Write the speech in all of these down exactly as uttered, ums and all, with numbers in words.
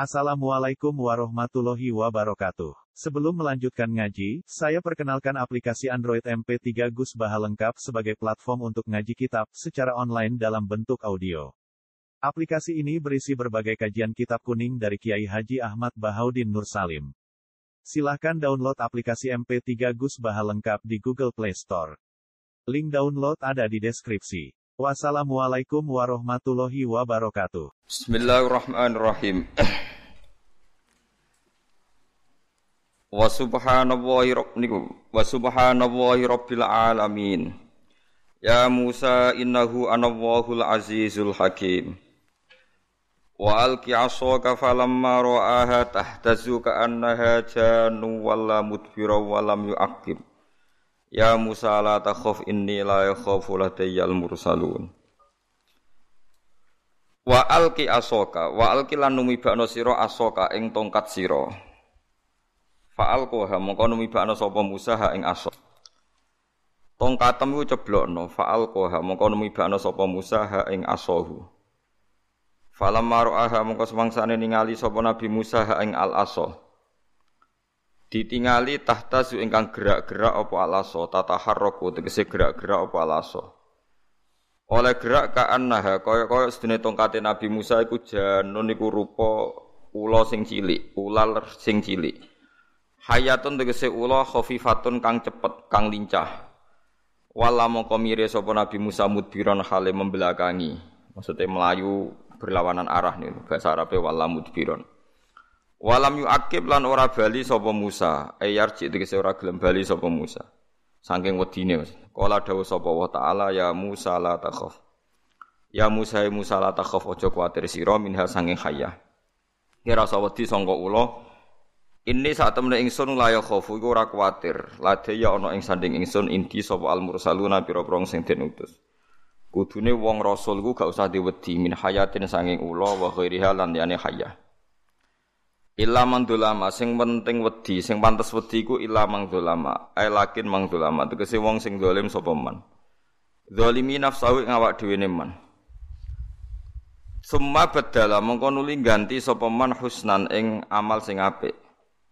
Assalamualaikum warahmatullahi wabarakatuh. Sebelum melanjutkan ngaji, saya perkenalkan aplikasi Android M P tiga Gus Baha lengkap sebagai platform untuk ngaji kitab secara online dalam bentuk audio. Aplikasi ini berisi berbagai kajian kitab kuning dari Kiai Haji Ahmad Bahaudin Nur Salim. Silahkan download aplikasi M P tiga Gus Baha lengkap di Google Play Store. Link download ada di deskripsi. Wassalamualaikum warahmatullahi wabarakatuh. Bismillahirrahmanirrahim. Wa subhanallahi rabbikum wa subhanallahi rabbil alamin. Ya Musa innahu anallahul azizul hakim. Wa alqi 'asaka falamma ra'aha tahtazu ka'annaha jannu walla mudbira wa lam yu'aqib. Ya Musa la takhaf inni la yakhafu ladayyal mursalun. Wa alqi 'asaka wa alqi lan numibakno sira asaka ing tongkat sira. Fa'alqaha mongko numibakno sapa Musa ha ing asa. Tongkatem iku ceblokno, fa'alqaha mongko numibakno sapa Musa ha ing asahu. Falamma ra'aha mongko semangsane ningali sapa Nabi Musa ha ing al-asa. Ditingali tahtazu ingkang gerak-gerak apa al-asa, tataharraku tegese gerak-gerak apa al-asa. Oleh gerak ka'annaha kaya-kaya sedene tongkate Nabi Musa iku janun iku rupa ula sing cilik, ular sing cilik. Hayatun tegese ula khafifatun kang cepet, kang lincah. Wala mongko mire sapa Nabi Musa mudbiron hale membelakangi. Maksudnya melayu berlawanan arah niku bahasa Arabe wala mudbiron. Walam yu'aqib lan ora bali sapa Musa, ayarji tegese ora gelem bali sapa Musa. Saking wedine Mas. Kala dawuh sapa wa ta'ala ya Musa la takhaf. Ya Musa ya Musa la takhaf aja kuwatir sira minha saking hayah. Ora usah wedi sangka ula. Ini saat temene ingsun la ya khofu iku ora kuwatir. Lade ya ana ing sanding ingsun inti sapa al mursaluna pira-pira sing den utus. Kudune wong rasul iku gak usah diwedi min hayatin sanging ula wa ghairiha lan liyane hayah. Illa man dolama sing penting wedi, sing pantes wedi iku illa mang dolama. Ai lakin mang dolama tegese wong sing zalim sapa man. Zalimi nafsahu ing awak dhewe ne man. Summa badala mongko nuli ganti sapa man husnan ing amal sing apik.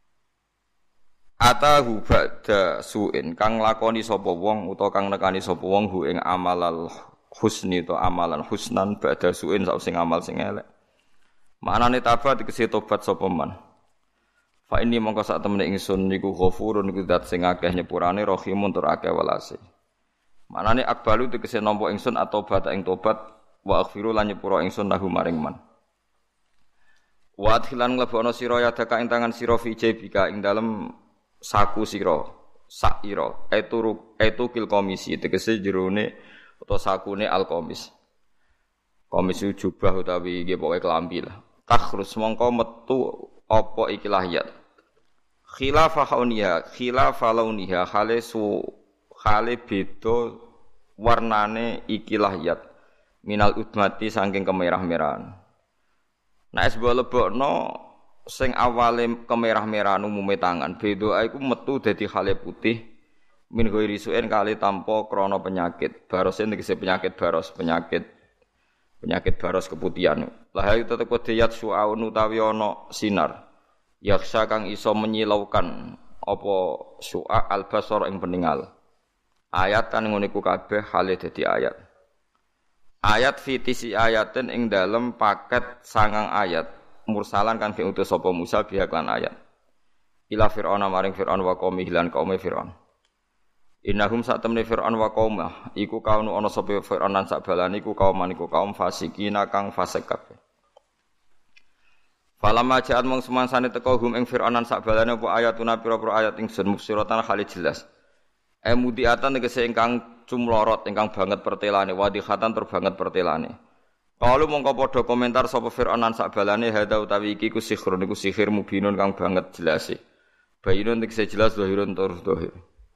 Atahu ba'da su'in kang lakoni sapa wong utawa kang nekani sapa wong hu ing amalal husni to amalan husnan ba'da su'in sak sing amal sing elek. Maknane tabat tegese tobat sapa man. Fa ini mongko sak temene ingsun niku ghafurun iku zat sing akeh nyepurane rahimun tur akeh welase. Maknane akbalu tegese nampa ingsun atobat ing tobat wa aghfiru lan nyepura ingsun lahu maring man. Wa adhilan nglebono sira ya daka ing tangan sira fi jebika ing dalem saku sira sak ira eturu etukil komisi tegese jerone utawa sakune alkomis komis jubah utawi nggih pokoke klambi lah takhrus mongko metu apa iki lahiyat khilafa hauniha khilafa launiha khale su khale beda warnane iki lahiyat minal udmati saking kemerah-merahan nek es lebokno sing awale kemerah-merahan umume tangan beda iku metu dadi khale putih min ghairi su'en kali tanpa krana penyakit barosen tegese penyakit baros penyakit penyakit baros keputihan lah itu tetep diyat su'aun utawi ana sinar yaksa kang iso menyilaukan apa su'a albasar ing peningal ayat kan ngono iku kabeh hale dadi ayat ayat fitisi ayatin ing dalem paket sangang ayat mursalan kan diutus sapa Musa biha lan ayat ila fir'auna maring fir'aun wa qaumi lan kaume fir'aun innahum satamne fir'aun wa qaumah iku kaunu ana sapa fir'aun lan sak balane iku kaum maniku kaum fasikina kang fasik kabeh falamma ja'at mung semansane teka hum ing fir'aun lan sak balane apa ayatuna pira-pira ayat ingsun mufsiratan khali jelas emudiatan tegese ingkang cumlorot ingkang banget pertelane wadihatan tur banget pertelane. Kalau mongko padha komentar sapa Fir'aun lan sakbalane hadza utawi iki ku sihir niku sihir mubinun kang banget jelas e. Bayinun tegese jelas zahirun tur zahir.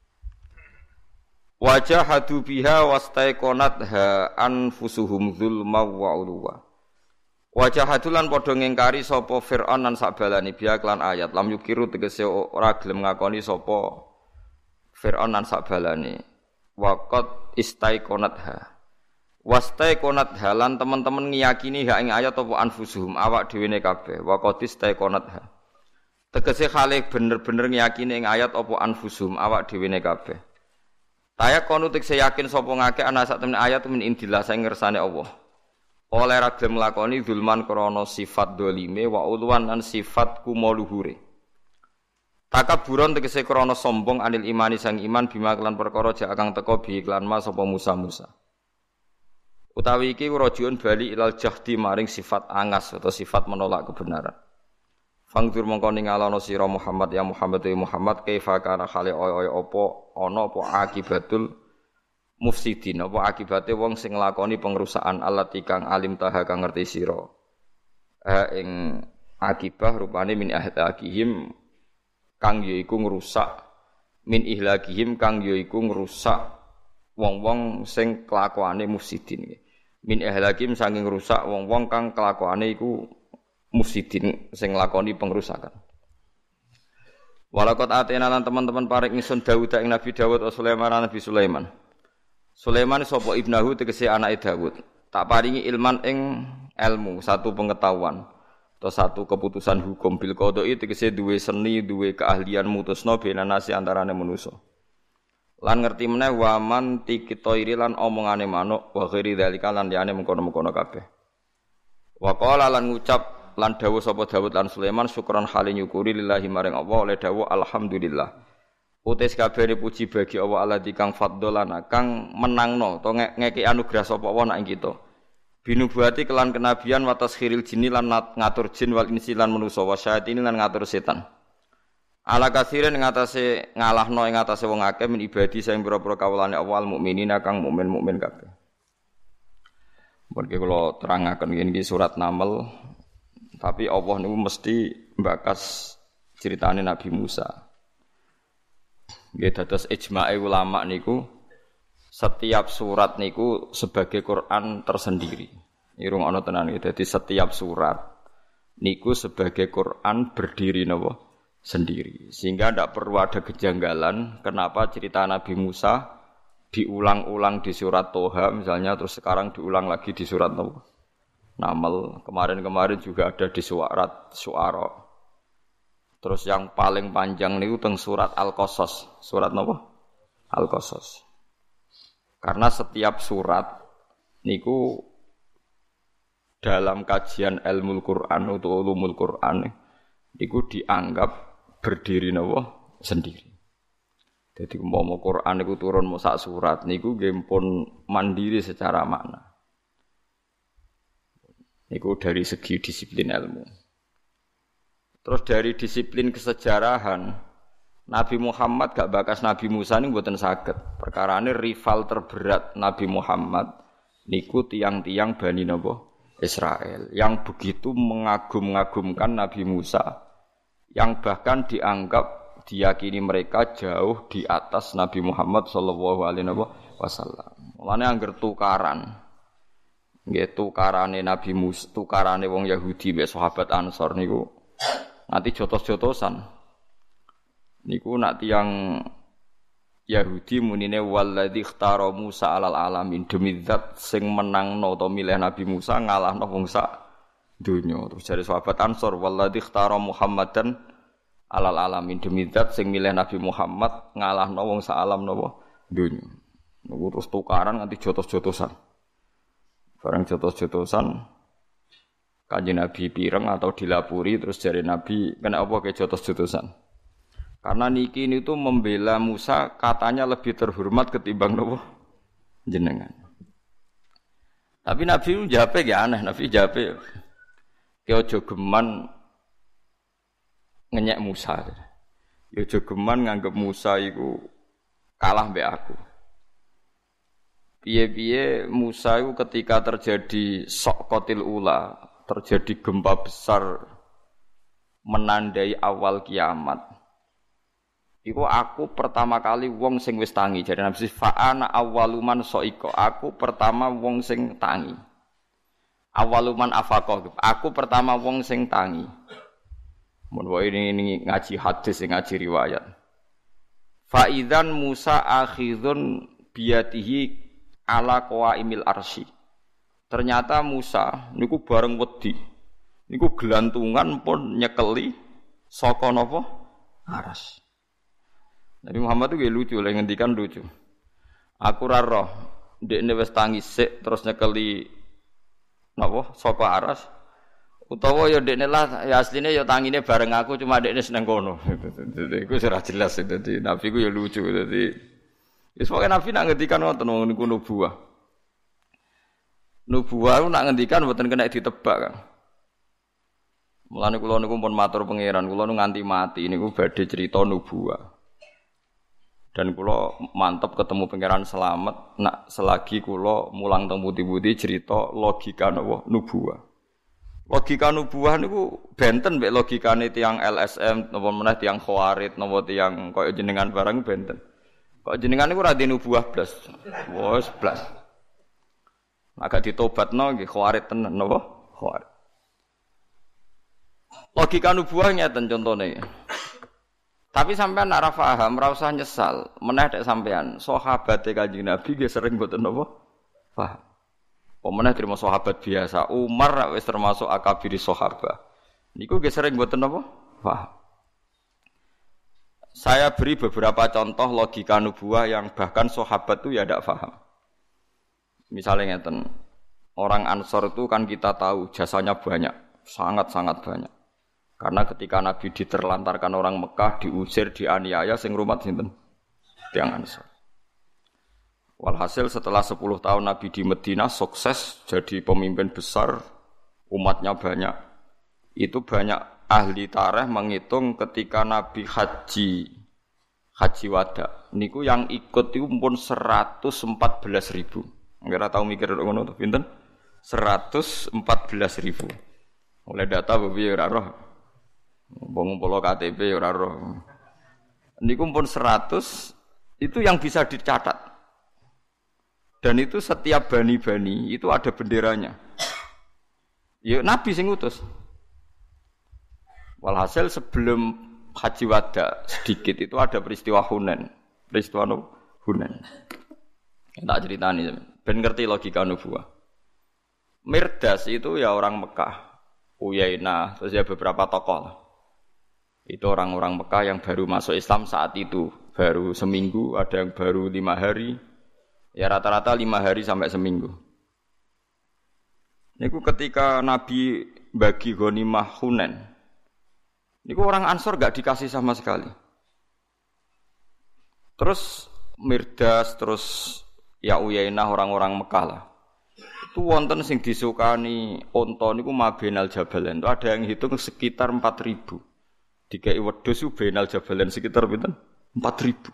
Wajahadu biha wastaiqonatha anfusuhum zulma wa ulwa. Wajahadu lan padha ngingkari sapa Fir'aun lan sakbalane biha lan ayat lam yukiru tegese ora gelem ngakoni sapa Fir'aun lan sakbalane. Waqat istaiqonatha Wastai konat halan teman-teman ngiyakini ha ing ayat apa anfusuhum awak dhewe ne kabeh wa qatis tai konat ha. Tegese khalik bener-bener ngiyakini ing ayat apa anfusuhum awak dhewe ne kabeh. Taya kono tekse yakin sapa ngake ana sak temen ayat min indillah sing ngersane Allah. Oleh ra gelem lakoni zulman krana sifat dolime wa ulwan lan sifat kumoluhure. Takaburon tegese krana sombong anil imani sang iman bima kelan perkara jak kang teka bi iklan ma sapa Musa Musa. Utawi iki rajiun bali ilal jahdi maring sifat angas atau sifat menolak kebenaran. Fangdur mongko ningalono sira Muhammad ya Muhammad ya Muhammad kaifa kana khali oy-oy apa ana apa akibatul mufsidin apa akibate wong sing nglakoni pengrusakan allati kang alim taha kang ngerti sira. Eh ing akibah rupane min ahlakihim kang yaiku ngrusak min ihlakihim kang yaiku ngrusak wong-wong sing kelakuane mufsidin. Min ihlakim saking rusak wong-wong kang kelakuane iku mufsidin sing nglakoni pengrusakan. Walaqad atena lan teman-teman paring ingsun Daud ing Nabi Daud wa Sulaiman lan Nabi Sulaiman. Sulaiman sapa ibnahu tegese anake Daud. Tak paringi ilman ing ilmu, satu pengetahuan atau satu keputusan hukum bil qada'i tegese duwe seni, duwe keahlian mutusna benanasi antarane manusa. Lan ngerti meneh waman tikitoiri lan omongane manuk wa ghairi dzalika lan liyane mengkono-mengkono kabeh. Wa qala lan ngucap lan dawuh sapa Daud lan Sulaiman syukran hale nyukuri lillahi maring Allah oleh dawuh alhamdulillah. Utis kabeh puji bagi Allah alladzi kang fadholana kang menangno to ngeki anugerah sapa Allah nak ing kita. Binubuati kelan kenabian wa taskhiril jinni lan ngatur jin wal insi lan manusa wa syayatin lan ngatur setan. Ala kasiren ing atase ngalahno ing atase wong akeh min ibadi sing pira-pira kawulane awal mukminina kang mukmin-mukmin kabeh. Mengke kula terangaken iki surat Naml, tapi Allah niku mesti mbakas critane Nabi Musa. Nggih dados ijma'e ulama niku setiap surat niku sebagai Quran tersendiri. Irung ana tenan iki. Dadi setiap surat niku sebagai Quran berdiri napa? Sendiri, sehingga tidak perlu ada kejanggalan kenapa cerita Nabi Musa diulang-ulang di surat Toha misalnya, terus sekarang diulang lagi di surat Naml, kemarin-kemarin juga ada di surat Syu'ara, terus yang paling panjang niku teng surat Al-Qasas, surat napa? Al-Qasas. Karena setiap surat niku dalam kajian ilmu Quran atau ulumul Quran niku dianggap berdiri napa sendiri. Jadi umpama Quran niku turun mau sak surat niku nggih pun mandiri secara makna. Niku dari segi disiplin ilmu. Terus dari disiplin kesejarahan Nabi Muhammad gak bakas Nabi Musa niku mboten saged. Perkarane rival terberat Nabi Muhammad niku tiang-tiang Bani napa Israel yang begitu mengagum-agumkan Nabi Musa, yang bahkan dianggap diyakini mereka jauh di atas Nabi Muhammad sallallahu alaihi wasallam. Mulane angger tukaran. Nggih tukarane Nabi Musa, tukarane wong Yahudi mek sahabat Ansor niku nanti jotos-jotosan. Niku nak tiyang Yahudi munine walladzi ikhtara Musa alal alamin, demi zat sing menangno utawa milih Nabi Musa ngalahno wong sak dunya. Terus jare sahabat Ansor walladzi ikhtara Muhammadan alal alamin, demi zat sing milih Nabi Muhammad ngalahno wong sak alam napa dunya. Niku terus tukaran nganti jotos-jotosan. Barang jotos-jotosan Kanjeng Nabi pireng atau dilapuri terus jare Nabi kena apa ke jotos-jotosan. Karena niki ini tuh membela Musa katanya lebih terhormat ketimbang nopo jenengan. Tapi Nabi jape ya aneh, Nabi jape ke ojo geman ngenyek Musa. Ya ojo geman nganggep Musa iku kalah mbek aku. Piye-piye Musa iku ketika terjadi sok kotil ula, terjadi gempa besar menandai awal kiamat. Iku aku pertama kali wong sing wis tangi. Jadi Nabi fa'ana awwaluman soiko. Aku pertama wong sing tangi. Awwaluman afaqah. Aku pertama wong sing tangi. Mun ini, ini ngaji hadis, ngaji riwayat. Fa'idzan Musa akhidun biyatihi ala qawaimil arsy. Ternyata Musa niku bareng wedi. Niku gelantungan pun nyekeli saka napa? Aras. Nabi Muhammad itu lucu, lha ngendikan lucu. Aku ra roh, ndekne wis tangi sik terus nyekeli napa? Saka aras. Utawa ya ndekne lah ya asline ya tangine bareng aku cuma ndekne seneng kono. Iku ora jelas dadi Nabi ku ya lucu dadi. Wis pokoke Nabi nak ngendikan wonten niku nubuwah. Nubuwah ku nak ngendikan mboten kena ditebak kan. Mulane kula niku pun matur pangeran, kula nu nganti mati niku badhe cerita nubuwah. Dan kula mantep ketemu pangeran selamat nak selagi kula mulang teng putih-putih cerita logika napa nubuwah. Logika nubuwah niku benten mek logikane tiyang L S M napa meneh tiyang Khawarid napa tiyang kaya jenengan barang benten. Kok jenengan niku ra di nubuwah blas. Wes blas. Agak ditobatno nggih Khawarid tenan napa? Khawarid. Logika nubuwah ngeten contone. Tapi sampean nek ora paham, ora usah nyesal. Meneh nek sampean sahabate Kanjeng Nabi nggih sering mboten napa? Paham. Pemenah terima sahabat biasa. Umar wis termasuk akabiri sahabat. Niku nggih sering mboten napa? Paham. Saya beri beberapa contoh logika nubuwah yang bahkan sahabat itu ya tidak paham. Misalnya ngeten. Orang Ansor itu kan kita tahu jasanya banyak, sangat-sangat banyak. Karena ketika Nabi diterlantarkan orang Mekah, diusir, dianiaya sing rumat sinten? Tiyang Ansor. Walhasil setelah sepuluh tahun Nabi di Madinah sukses jadi pemimpin besar, umatnya banyak. Itu banyak ahli tarikh menghitung ketika Nabi haji haji wada. Niku yang ikut itu pun seratus empat belas ribu. Enggak tahu mikir ngono to pinten? seratus empat belas ribu. Oleh data piye ora roh. Wong polo K T P ora roh. Niku pun seratus itu yang bisa dicatat. Dan itu setiap bani-bani itu ada benderanya. Ya Nabi sing ngutus. Walhasil sebelum haji wada sedikit itu ada peristiwa Hunain. Peristiwa no? Hunain. Tak ceritani ben ngerti logika nubuwah. Mirdas itu ya orang Mekah. Uyainah, terus ya beberapa tokoh. Itu orang-orang Mekah yang baru masuk Islam saat itu. Baru seminggu, ada yang baru lima hari. Ya rata-rata lima hari sampai seminggu. Niku ketika Nabi bagi ghanimah Hunain. Niku orang Ansor gak dikasih sama sekali. Terus Mirdas, terus ya Uyainah orang-orang Mekah lah. Itu wonten sing disukani unta niku mabenal jabalen. Itu ada yang hitung sekitar empat ribu. Dikai wedhus ku benal jabalen sekitar pinten? empat ribu.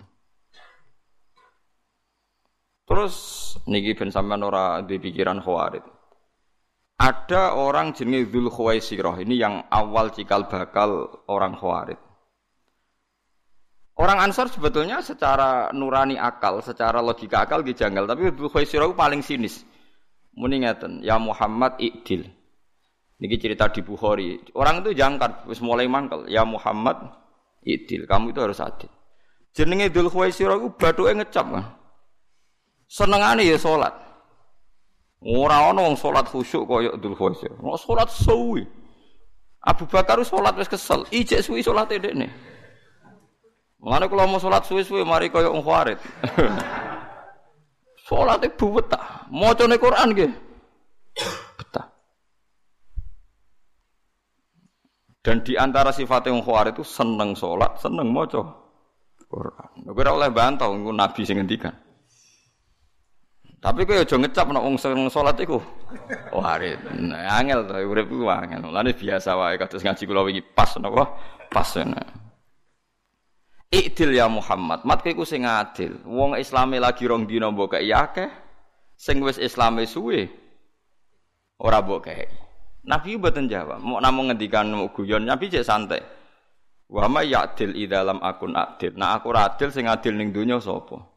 Terus niki ben sampean ora duwe pikiran Khawarid. Ada orang jenenge Dzul Khuwaisirah, ini yang awal cikal bakal orang Khawarid. Orang Ansor sebetulnya secara nurani akal, secara logika akal ki janggal, tapi Dzul Khuwaisirah paling sinis. Muni ngeten, ya Muhammad i'dil. Niki cerita di Bukhari. Orang itu jangkar, wis mulai mangkel, ya Muhammad i'dil, kamu itu harus adil. Jenenge Dzul Khuwaisirah ku bathuke ngecap kan. Senengane ya salat. Ora ana wong salat khusyuk kaya Dzul Khuwaisirah. Nek salat suwi. Abu Bakar salat wis kesel, ijek suwi salate dekne. Mulane kula mau salat suwi-suwi mari kaya wong Khawarid. Salate buwet ta. Macane Quran nggih. Betah. Dan di antara sifat wong Khawarid itu seneng salat, seneng maca Quran. Ora oleh bantah niku Nabi sing ngendikan. Tapi kowe aja ngecap nek wong seneng salat iku. Warit. Nah, angel to urip iku angel. Lane biasa wae kados ngaji kula wingi pas napa? Pas. I'dil ya Muhammad. Mat kowe iku sing adil. Wong Islame lagi rong dina mbok kei akeh. Sing wis Islame suwe ora mbok kei. Nabi mboten jawab. Mok namung ngendikan mok guyon, Nabi cek santai. Wa may ya'dil idza lam akun adil. Nah aku ora adil sing adil ning donya sapa?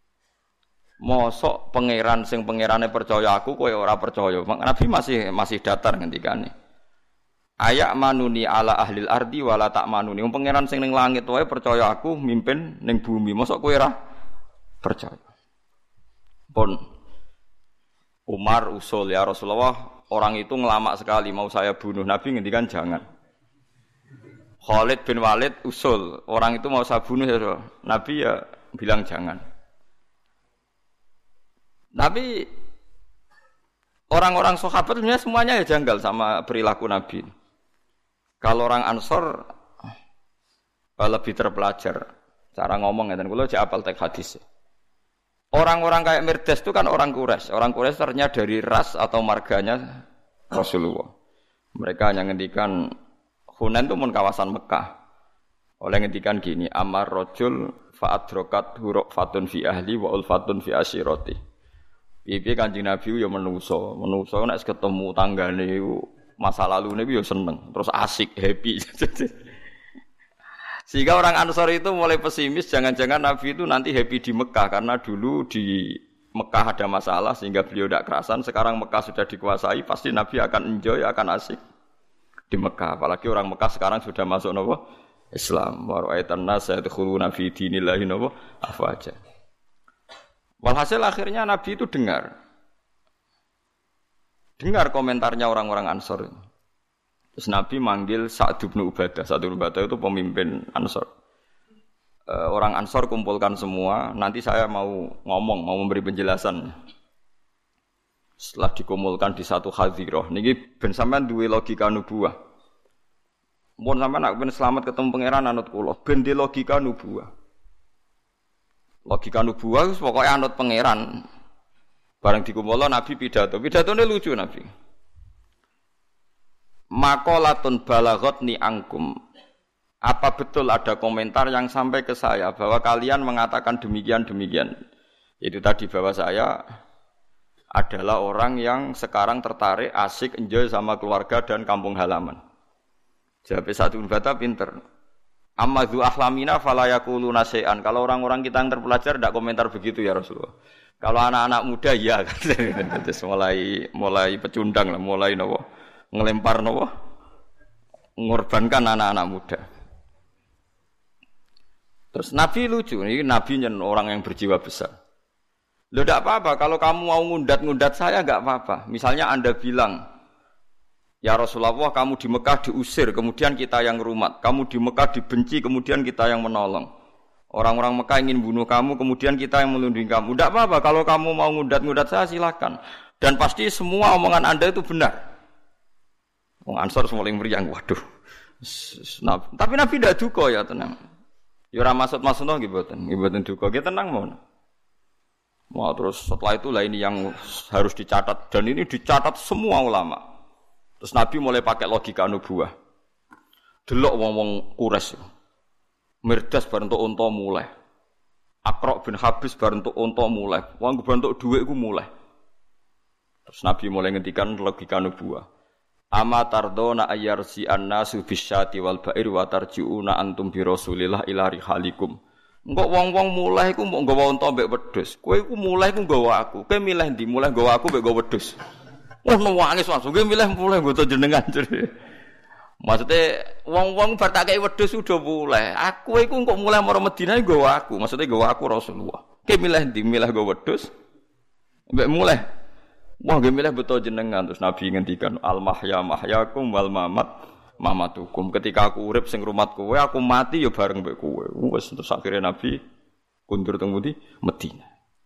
Mosok pangeran sing pangerane percaya aku kowe ora percaya. Nabi masih masih datar ngendikane. Ayak manuni ala ahlil ardi wala tak manuni. Wong pangeran sing ning langit wae percaya aku mimpin ning bumi. Mosok kowe ora percaya. Pun Umar usul, ya Rasulullah, orang itu ngelamak sekali mau saya bunuh. Nabi ngendikan jangan. Khalid bin Walid usul, orang itu mau saya bunuh ya Rasulullah. Nabi ya bilang jangan. Tapi orang-orang sahabat semuanya ya janggal sama perilaku Nabi. Kalau orang Ansor lebih terpelajar cara ngomong ya, dan kalau cek apal teks hadis. Orang-orang kayak Mirdas itu kan orang Quraisy. Orang Quraisy ternyata dari ras atau marganya Rasulullah. Mereka hanya ngendikan Hunain itu pun kawasan Mekah. Oleh ngendikan gini, amar rajul fa'adrokat huruk fatun fi ahli wa ulfatun fi asyirati. Piye Kanjeng Nabi ya menungso, menungso nek ketemu tanggane masa lalu niku ya seneng, terus asik, happy. Sehingga orang Ansor itu mulai pesimis, jangan-jangan Nabi itu nanti happy di Mekah karena dulu di Mekah ada masalah sehingga beliau tidak kerasan. Sekarang Mekah sudah dikuasai, pasti Nabi akan enjoy, akan asik di Mekah. Apalagi orang Mekah sekarang sudah masuk nopo Islam. Wa ra'aitan nas yadkhuluna fi dinillahi nopo afwaja. Walhasil akhirnya Nabi itu dengar, dengar komentarnya orang-orang Ansor. Terus Nabi manggil Sa'd bin Ubadah. Sa'd bin Ubadah itu pemimpin Ansor. E, orang Ansor kumpulkan semua. Nanti saya mau ngomong, mau memberi penjelasan. Setelah dikumpulkan di satu hadirah. Niki ben sampean duwe logika nubuwah. Mun sampean nak ben selamat ketemu pangeran anut kula. Ben di logika nubuwah. Logika nubuwah wis pokoke anut pangeran. Bareng dikumpulno Nabi pidato. Pidatone lucu Nabi. Maqalatun balaghatni angkum. Apa betul ada komentar yang sampai ke saya bahwa kalian mengatakan demikian-demikian? Itu tadi bahwa saya adalah orang yang sekarang tertarik, asik, enjoy sama keluarga dan kampung halaman. Jawab satu bata pinter. Amma dzu ahlamina fala yaquluna syai'an. Kalau orang-orang kita yang terpelajar tidak komentar begitu ya Rasulullah. Kalau anak-anak muda ya terus mulai mulai pecundang lah, mulai nopo ngelempar nopo mengorbankan anak-anak muda. Terus Nabi lucu, ini Nabi nyen orang yang berjiwa besar. Loh tidak apa-apa, kalau kamu mau ngundat-ngundat saya enggak apa-apa. Misalnya Anda bilang, ya Rasulullah kamu di Mekah diusir, kemudian kita yang rumat. Kamu di Mekah dibenci, kemudian kita yang menolong. Orang-orang Mekah ingin bunuh kamu, kemudian kita yang melindungi kamu. Tidak apa-apa, kalau kamu mau ngundat-ngundat saya silakan. Dan pasti semua omongan Anda itu benar. Wong Ansor semua yang meriang, waduh. Nah, tapi Nabi tidak duka ya tenang. Ya ora maksud-maksudno nggih mboten, nggih mboten duka. Nggih tenang mawon. Mau terus setelah itu lah ini yang harus dicatat dan ini dicatat semua ulama. Terus Nabi mulai pakai logika nubuwah. Delok wong-wong Quraisy. Mirdas bar entuk unta mulai. Aqra bin Habis bar entuk unta mulai. Wong bar entuk dhuwit iku mulai. Terus Nabi mulai ngendikan logika nubuwah. Ama tardona ayyarsi annasu bisyati wal ba'ir wa tarji'una antum bi Rasulillah ila rihalikum. Engko wong-wong mulai iku mbok nggawa unta mbek wedhus. Kowe iku mulai iku nggawa aku. Kowe milih ndi? Mulai nggawa aku mbek nggawa wedhus. Wah nangis langsung kowe milih mulai nggo jenengan. Maksudnya wong-wong bar tak kei wedhus udah mulai. Aku iku kok mulai marang Madinah nggawa aku. Maksudnya nggawa aku Rasulullah. Kowe milih ndi? Milih nggawa wedhus mbek mulai. Wah, nggih milih betul jenengan. Terus Nabi ngendikan al mahya mahyakum wal mamat mamatukum. Ketika aku urip sing rumat kowe, aku mati ya bareng mbek kowe. Wes terus akhirnya Nabi kundur teng pundi? Madinah.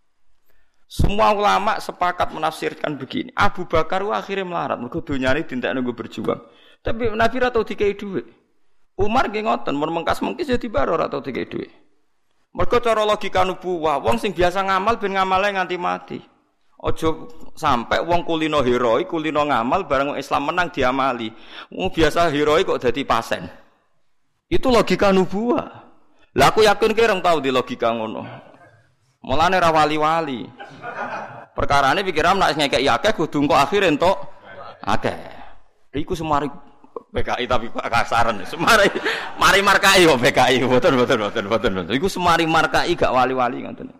Semua ulama sepakat menafsirkan begini. Abu Bakar wa akhirnya melarat, mergo donyane dintekno nggo berjuang. Tapi Nabi ra tau dikei dhuwit. Umar nggih ngoten, mun mengkas-mengkis ya dibaro ra tau dikei dhuwit. Mergo cara logika nubuwah, wong sing biasa ngamal ben ngamale nganti mati. Ojo sampai wong kulino heroik, kulino ngamal bareng Islam menang diamali. Wong biasa heroik kok dadi pasen. Itu logika nubuwah. Lah aku yakin kirang tahu di logika ngono. Mulane ra wali-wali. Perkarane pikiran nek ngekek akeh kudu engko akhir entuk akeh. Iku semari P K I tapi kasaran. Semari mari markai kok P K I. Mboten mboten mboten mboten. Iku semari markai gak wali-wali ngoten.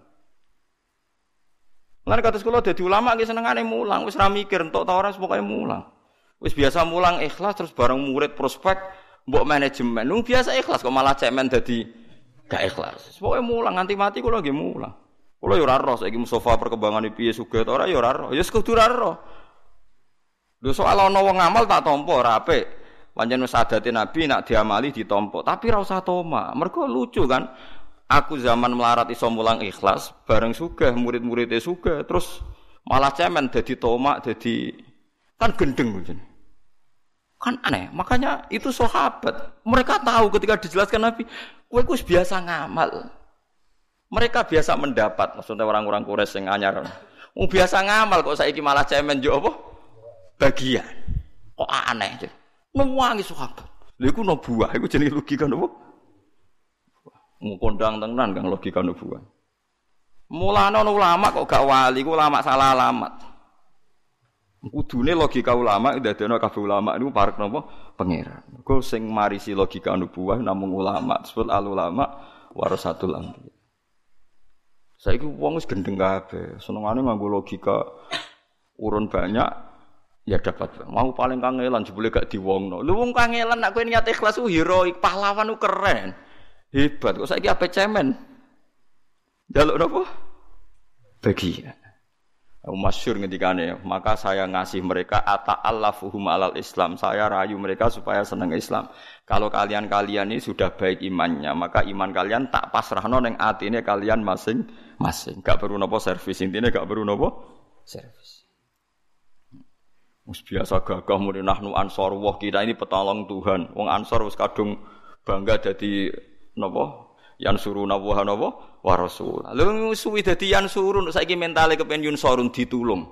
Lan kados kula dadi ulama nggih senengane mulang, wis ra mikir entuk ta ora pokoke mulang. Wis biasa mulang ikhlas terus bareng murid prospek mbok manajemen. Lu biasa ikhlas kok malah cemen dadi gak ikhlas. Pokoke mulang nganti mati kula nggih mulang. Kula yo ora roh saiki Mustofa perkembangane piye sugih ta ora yo ora roh. Ya kudu ora roh. Lho soal ana wong ngamal tak tampa ora apik. Pancen wis adate Nabi nak diamali ditampa, tapi ora usah toma. Mergo lucu kan. Aku zaman melarat iso mulang ikhlas, bareng sugih murid-muridé sugih, terus malah cemen dadi tomak, dadi kan gendeng mungkin. Kan aneh. Makanya itu sahabat. Mereka tahu ketika dijelaskan Nabi, kowe wis biasa ngamal. Mereka biasa mendapat, maksudnya orang-orang Quraisy sing anyar. Wong biasa ngamal kok saiki malah cemen yo apa? Bagian. Kok aneh. Nuwangi sahabat. Lha iku nubuwah, iku jenenge logika napa? Ngkondang tenan kang logika nubuwah. Mulane ana ulama kok gak wali, ku ulama salah alamat. Kudune logika ulama ndadekno kabeh ulama niku parek napa? Pangeran. Mergo sing marisi logika nubuwah namung ulama, disebut al ulama warasatul anbiya. Saiki wong wis gendeng kabeh, senengane nganggo logika urun banyak ya dapat. Mau paling kangelan jebule gak diwongno. Lho wong kangelan nek kowe niat ikhlas ku heroik, pahlawan ku keren. Hebat kok saiki ape cemen. Jaluk napa? Bagian. Masyhur ngendikane, maka saya ngasih mereka ata'allafuhum alal Islam. Saya rayu mereka supaya seneng Islam. Kalau kalian-kalian ini sudah baik imannya, maka iman kalian tak pasrahno ning atine kalian masing-masing. Gak perlu napa servis, intine gak perlu napa servis. Wis biasa gagah muni nahnu ansor wah kita ini petolong Tuhan. Wong ansor wis kadung bangga dadi napa? Yan suruna wa napa? Wa rasul. Lha suwi dadi yan surun saiki mentale kepen yun surun ditulung.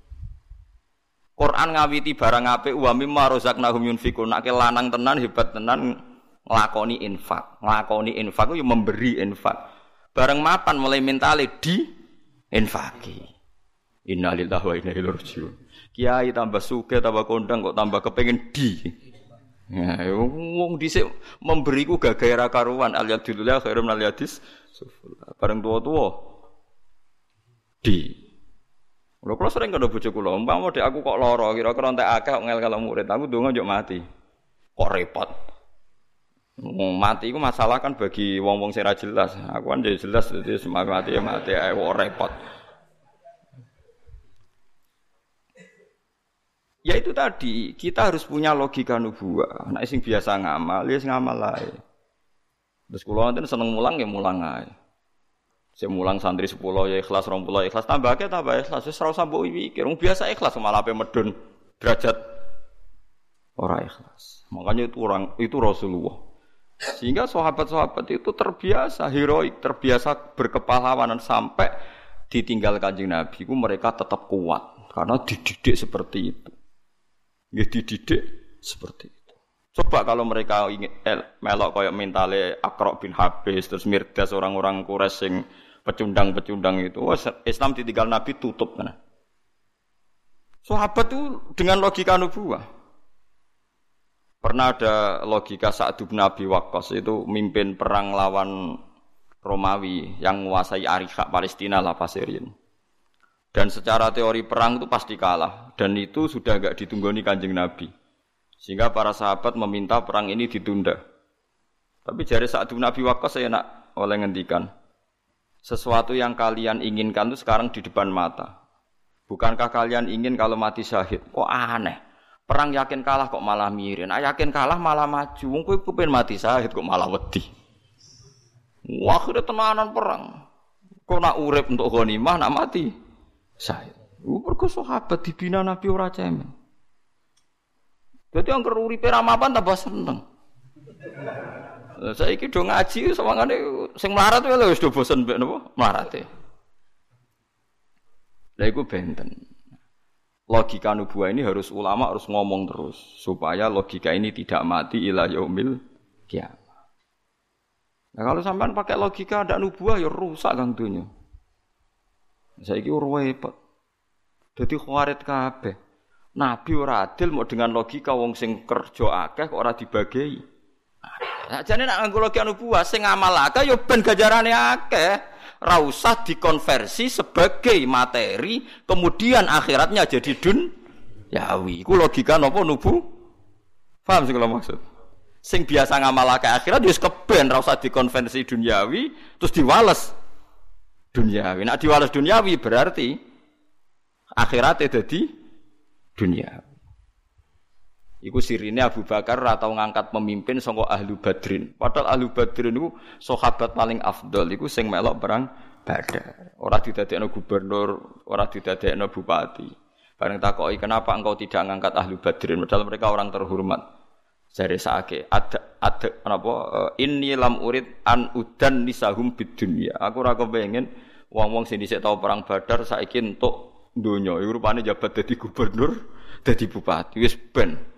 Quran ngawiti barang apik wa mimma razaqnahum yunfikun. Nek lanang tenan hebat tenan nglakoni infak. Nglakoni infak ku yo memberi infak. Bareng mapan mulai mentale di infaki. Innalillahi wa inna ilaihi rajiun. Kiai tambah sugih tambah kondang kok tambah kepengin di. Ya, wong dhisik memberi ku gagahe ra karuan aliyadillah khairum aliyadis sufula. Bareng tuwa-tuwa di. Lha kula sering kandha bojo kula, umpama dek aku kok lara, kira-kira entek akeh kok ngel kalau murid, aku ndonga njuk mati. Kok repot. Wong mati iku masalah kan bagi wong-wong sing ra jelas. Aku kan jelas dadi mati ya mati ae kok repot. Ya itu tadi, kita harus punya logika nubuwah. Nek sing biasa ngamal, ya sing ngamal ae. Terus kula nanti seneng mulang ya mulang ae. Sing mulang santri sepuluh ya ikhlas, dua puluh ikhlas, tambah akeh tambah ikhlas. Wis ora usah mbok mikir, wong biasa ikhlas malah ape medun derajat ora ikhlas. Makanya itu orang itu Rasulullah. Sehingga sahabat-sahabat itu terbiasa heroik, terbiasa berkepahlawanan sampai ditinggal Kanjeng Nabi ku mereka tetap kuat karena dididik seperti itu. Ya dididik seperti itu. Coba kalau mereka ingin eh, melok koyok mentale Aqra bin Habis terus Mirdas orang-orang Quraisy sing pecundang-pecundang itu, wah Islam ditinggal Nabi tutup kan. Sahabat itu dengan logika nubuwah. Pernah ada logika Sa'd bin Abi Waqqas itu mimpin perang lawan Romawi yang menguasai Ariha Palestina lah Pasirin. Dan secara teori perang itu pasti kalah. Dan itu sudah enggak ditunggoni Kanjeng Nabi. Sehingga para sahabat meminta perang ini ditunda. Tapi jari Sa'd bin Abi Waqqas saya nak oleh ngendikan. Sesuatu yang kalian inginkan itu sekarang di depan mata. Bukankah kalian ingin kalau mati syahid? Kok aneh. Perang yakin kalah kok malah mirin. Nah, yakin kalah malah maju. Wong kowe kepen mati syahid kok malah wedi. Wah, akhirnya tenanan perang. Kok nak urip untuk ghanimah nak mati syahid. Mergo sahabat dibina Nabi ora cemen. Dadi angger uripe ra mapan tambah seneng. Saiki do ngaji sawangane sing melarat wae lho wis do bosen mbek napa melarate. Lha iku benten. Logika nubuwah ini harus ulama harus ngomong terus supaya logika ini tidak mati ila yaumil kiamah. Nah kalau sampean pakai logika ndak nubuwah ya rusak kang donya. Saiki ora repot. Dadi khawarit kabeh. Nabi ora adil mau dengan logika wong sing kerja akeh kok ora dibagi. Nah, jane nek nganggo logika nubuwah sing ngamal akeh ya ben ganjarane akeh. Ora usah dikonversi sebagai materi, kemudian akhiratnya jadi dunyawi. Iku logika napa nubu? Paham sing kula maksud? Sing biasa ngamal akeh akhirat wis keben ora usah dikonversi dunyawi terus diwales duniawi. Nek diwales duniawi berarti akhirate dadi duniawi. Iku sirine Abu Bakar ora tau ngangkat pemimpin saka Ahlu Badrin. Padahal Ahlu Badrin niku sahabat paling afdol iku sing melok perang Badar. Ora didadekno gubernur, ora didadekno bupati. Bareng takoki kenapa engkau tidak ngangkat Ahlu Badrin padahal mereka orang terhormat. Jare saake ada ada napa inni lam urid an udan nisahum bid dunya. Aku ora kepengin wong-wong sing dhisik tau perang Badar saiki entuk donya. Iku rupane jabat dadi gubernur, dadi bupati. Wis ben.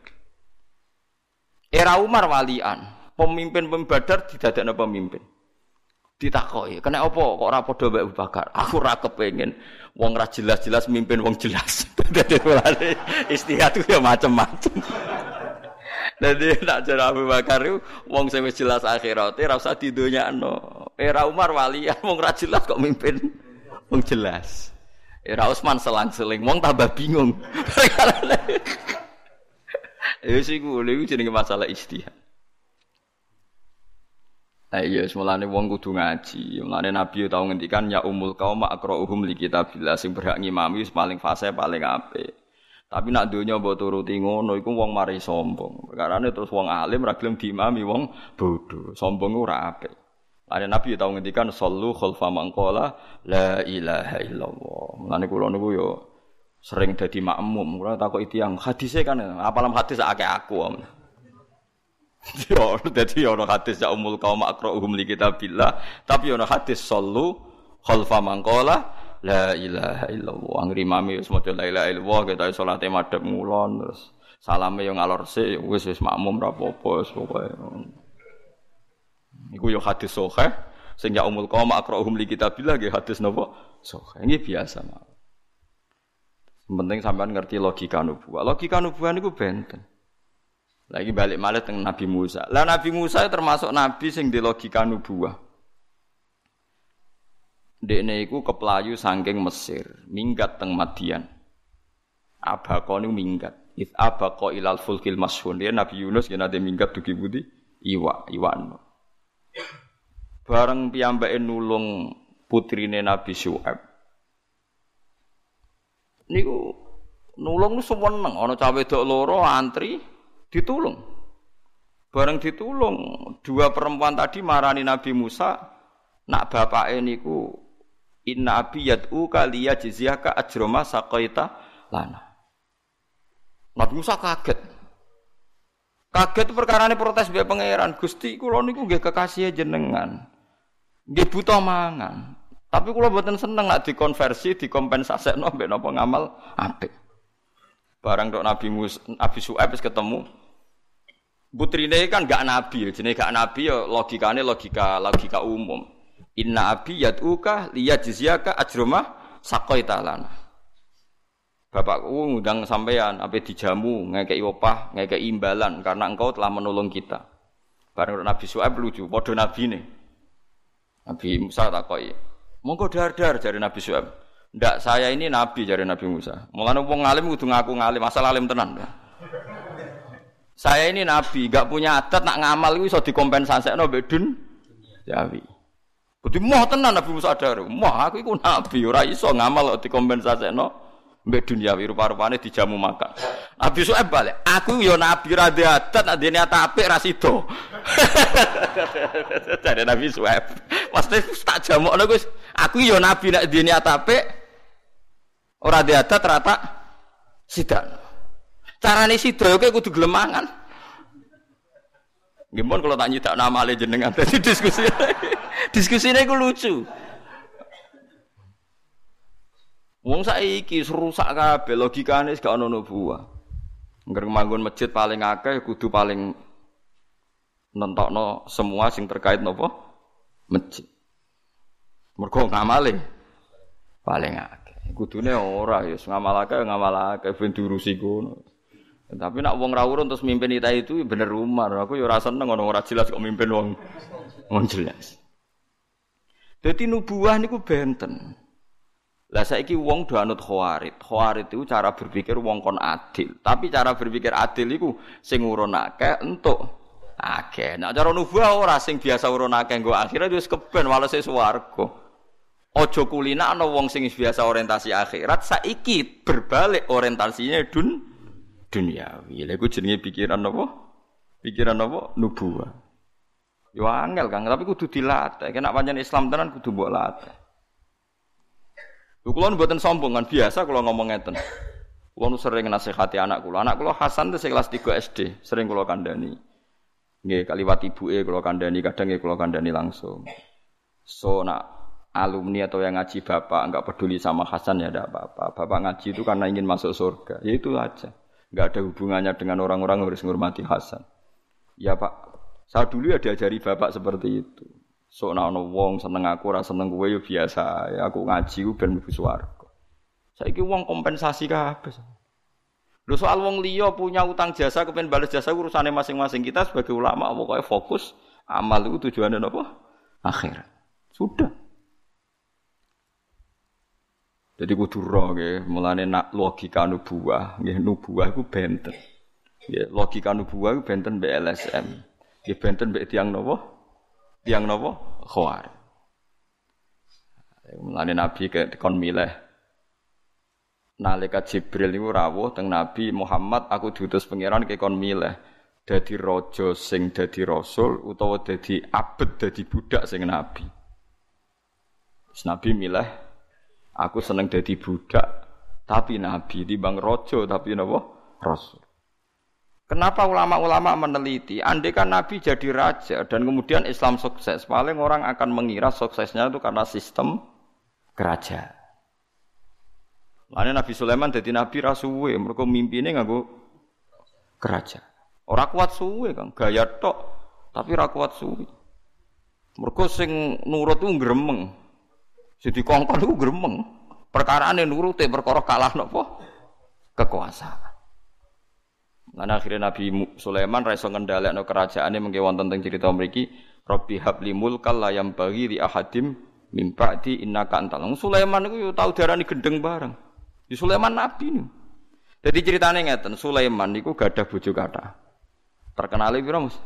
Era Umar walian, pemimpin Badar didadekno pemimpin. Ditakoki, "Kena apa kok ora padha mbek Abu Bakar?" Aku ora kepengin wong ra jelas-jelas mimpin wong jelas. Dadi mulane istihad ku ya macem-macem. Dadi nek jare Abu Bakar ku wong sing wis jelas akhirate ora usah didonyakno. Era Umar walian wong ra jelas kok mimpin wong jelas. Era Utsman selang-seling wong tambah bingung. Ya sik ku lha iku jenenge masalah ijtihad. Ayo semulane wong kudu ngaji. Mulane Nabi tau ngendikan ya umul qaum aqra'uhum li kitabillah sing berhak ngimami wis paling fase paling apik. Tapi nak donya mbok turuti ngono iku wong mari sombong. Perkarane terus wong alim ra gelem diimami wong bodho. Sombong ora apik. Mulane Nabi tau ngendikan sallu khalfa man qala la ilaha illallah. Mulane kula niku yo sering dadi makmum, kula takoki tiyang, hadise kan apalam hadis akeh aku. Yo dadi ono hadis ya umul qaum aqra'uhum li kitabillah, tapi ono hadis sallu khalfa man qala la ilaha illallah. Angger imame wis maca la ilaha illallah ketoke salate madhep ngulon terus salame yo ngalor sik wis wis makmum ra apa-apa wis pokoke. Iku yo hadis sahih sing ya umul qaum aqra'uhum li kitabillah nggih hadis napa? Sahih. Iki biasa mawon. Penting sampean ngerti logika nubuwah. Logika nubuwah niku benten. Lagi balik malih teng Nabi Musa. Lah Nabi Musa termasuk nabi sing di logika nubuwah. Dekne iku keplayu saking Mesir, minggat teng Madian. Abaqa niku minggat. It abaqa ilal fulkil mashhun. Dia Nabi Yunus yen ade minggat dugi budi iwa, iwan. Bareng piyambake nulung putrine Nabi Syuaib. Niku nulung seneng ana cah wedok loro antri ditulung. Bareng ditulung, dua perempuan tadi marani Nabi Musa, nak bapake niku inna abi yad'u kaliya jizyaka ajrama saqaita lana. Nabi Musa kaget. Kaget perkarane protes mbek pangeran, Gusti kula niku nggih kekasih jenengan. Nggih buta mangan. Tapi kula mboten seneng nek dikonversi, dikompensasekno mbek napa ngamal apik. Barang tok Nabi Musa, Nabi Syuaib wis ketemu. Putrine kan gak nabi, jenenge gak nabi ya logikane logika logika umum. Inna abi yad'uka liyajziyaka ajrama saqaita lana. Bapakku ngundang sampean ape dijamu, ngekeki opah, ngekeki imbalan karena engkau telah menolong kita. Bareng Nabi Syuaib lucu, padha nabine. Nabi Musa takoki, monggo dar-dar jare Nabi Syuaib. Ndak, saya ini nabi jare Nabi Musa. Mulane wong alim kudu ngaku ngalim, asal alim tenan. Saya ini nabi, enggak punya adat nak ngamal iku iso dikompensasekno mbek dun Jawi. Kudu moh tenan Nabi Musa dar. Moh aku iku nabi, ora iso ngamal kok dikompensasekno mbek dunyawi rupa-rupane dijamu makan. Nabi Syuaib balik, aku yo nabi ra de adat nak dene apik ra sida. Jare Nabi Syuaib. Mesti tak jamukno Gus. Aku yo nabi nek dene apik ora de adat rata sidan. Carane sida kowe kudu gelem mangan. Nggih mon kula tak nyidak namale jenengan dadi diskusi. Diskusine iku lucu. Wong saiki rusak kabeh logikane gak ono nubuwah. Ngger manggon masjid paling akeh kudu paling nentokno semua sing terkait napa? Masjid. Mergo ngamale paling akeh. Kudune ora ya ngamal akeh ngamal akeh ben diurusi ngono. Tapi nak wong ra urun terus mimpin kita itu bener umar. Aku ya ora seneng ono ora jelas kok mimpin wong wong jelas. Dadi nubuwah niku benten. Lah saiki wong do anut khawarid. Khawarid itu cara berpikir wong kon adil. Tapi cara berpikir adil iku sing urun akeh entuk akeh. Nek cara nubuwah ora sing biasa urun akeh nggo akhire wis keben walese swarga. Ojo kulinakno wong sing biasa orientasi akhirat saiki berbalik orientasinya dun duniawi. Lha iku jenenge pikiran apa? Pikiran apa? Nubuwah. Yo angel Kang, tapi kudu dilatih. Nek pancen Islam tenan kudu mbok latih. Lho kula mboten sombong kan biasa kula ngomong ngeten. Kula sering nasihati anak kula. Anak kula Hasan teh kelas tiga S D, sering kula kandhani. Nggih kaliwat ibuke kula kandhani, kadang nggih kula kandhani langsung. So nak alumni atau yang ngaji bapak enggak peduli sama Hasan ya enggak apa-apa. Bapak ngaji itu karena ingin masuk surga. Ya itu aja. Enggak ada hubungannya dengan orang-orang yang harus menghormati Hasan. Ya Pak, saya dulu ya diajari bapak seperti itu. So nak ono wong seneng aku ora seneng kowe ya biasa. Ya aku ngaji ku ben mlebu swarga. Saiki wong kompensasi kabeh. Lho soal wong liya punya utang jasa kepen bales jasa urusane masing-masing. Kita sebagai ulama pokoke fokus amal itu tujuannya apa? Akhirat. Sudah. Jadi kudu ro nggih, mulane nak logika nubuwah, nggih nubuwah iku benten. Nggih, logika nubuwah iku benten mbek L S M. Nggih benten mbek tiyang napa? Tiyang napa? Khawarij. Mulane Nabi kon milih nalika Jibril niku rawuh teng Nabi Muhammad, aku diutus pangeran kekon milih dadi raja sing dadi rasul utawa dadi abet dadi budak sing nabi. Terus Nabi milih aku seneng dadi budak tapi nabi timbang raja tapi napa rasul. Kenapa ulama-ulama meneliti andai kan nabi jadi raja dan kemudian Islam sukses, paling orang akan mengira suksesnya itu karena sistem kerajaan. Lane Nabi Sulaiman dadi nabi ra suwe, mergo mimpine nganggo kerajaan. Ora kuat suwe, Kang, gaya tok, tapi ra kuat suwe. Mergo sing nurut ku gremeng. Sing dikongkon ku gremeng. Perkarane nurute perkara kalah napa? Kekuasaan. Lan akhirnya Nabi Sulaiman ra iso ngendhalekno kerajaane mengke wonten teng crita mriki, Rabbi habli mulkal la yam bagi li ahadim mim ba'di innaka antal. Sulaiman iku yo tau diarani gendeng bareng. Di Sulaiman nabi niku. Dadi critane ngeten, Sulaiman niku gadah bojo kathah. Terkenale pira, Mas?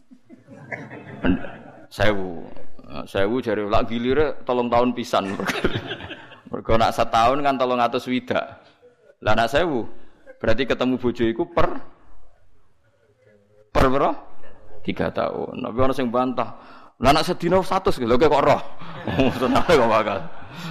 Sewu. Sewu jare lak gilire telung tahun pisan. Mergo nak setahun kan telung atus swidak. Lah nak sewu berarti ketemu bojo iku per per pira? tiga tahun. Tapi ana sing bantah. Lah nak sedina seratus lho kok roh. Tenane kok bakal.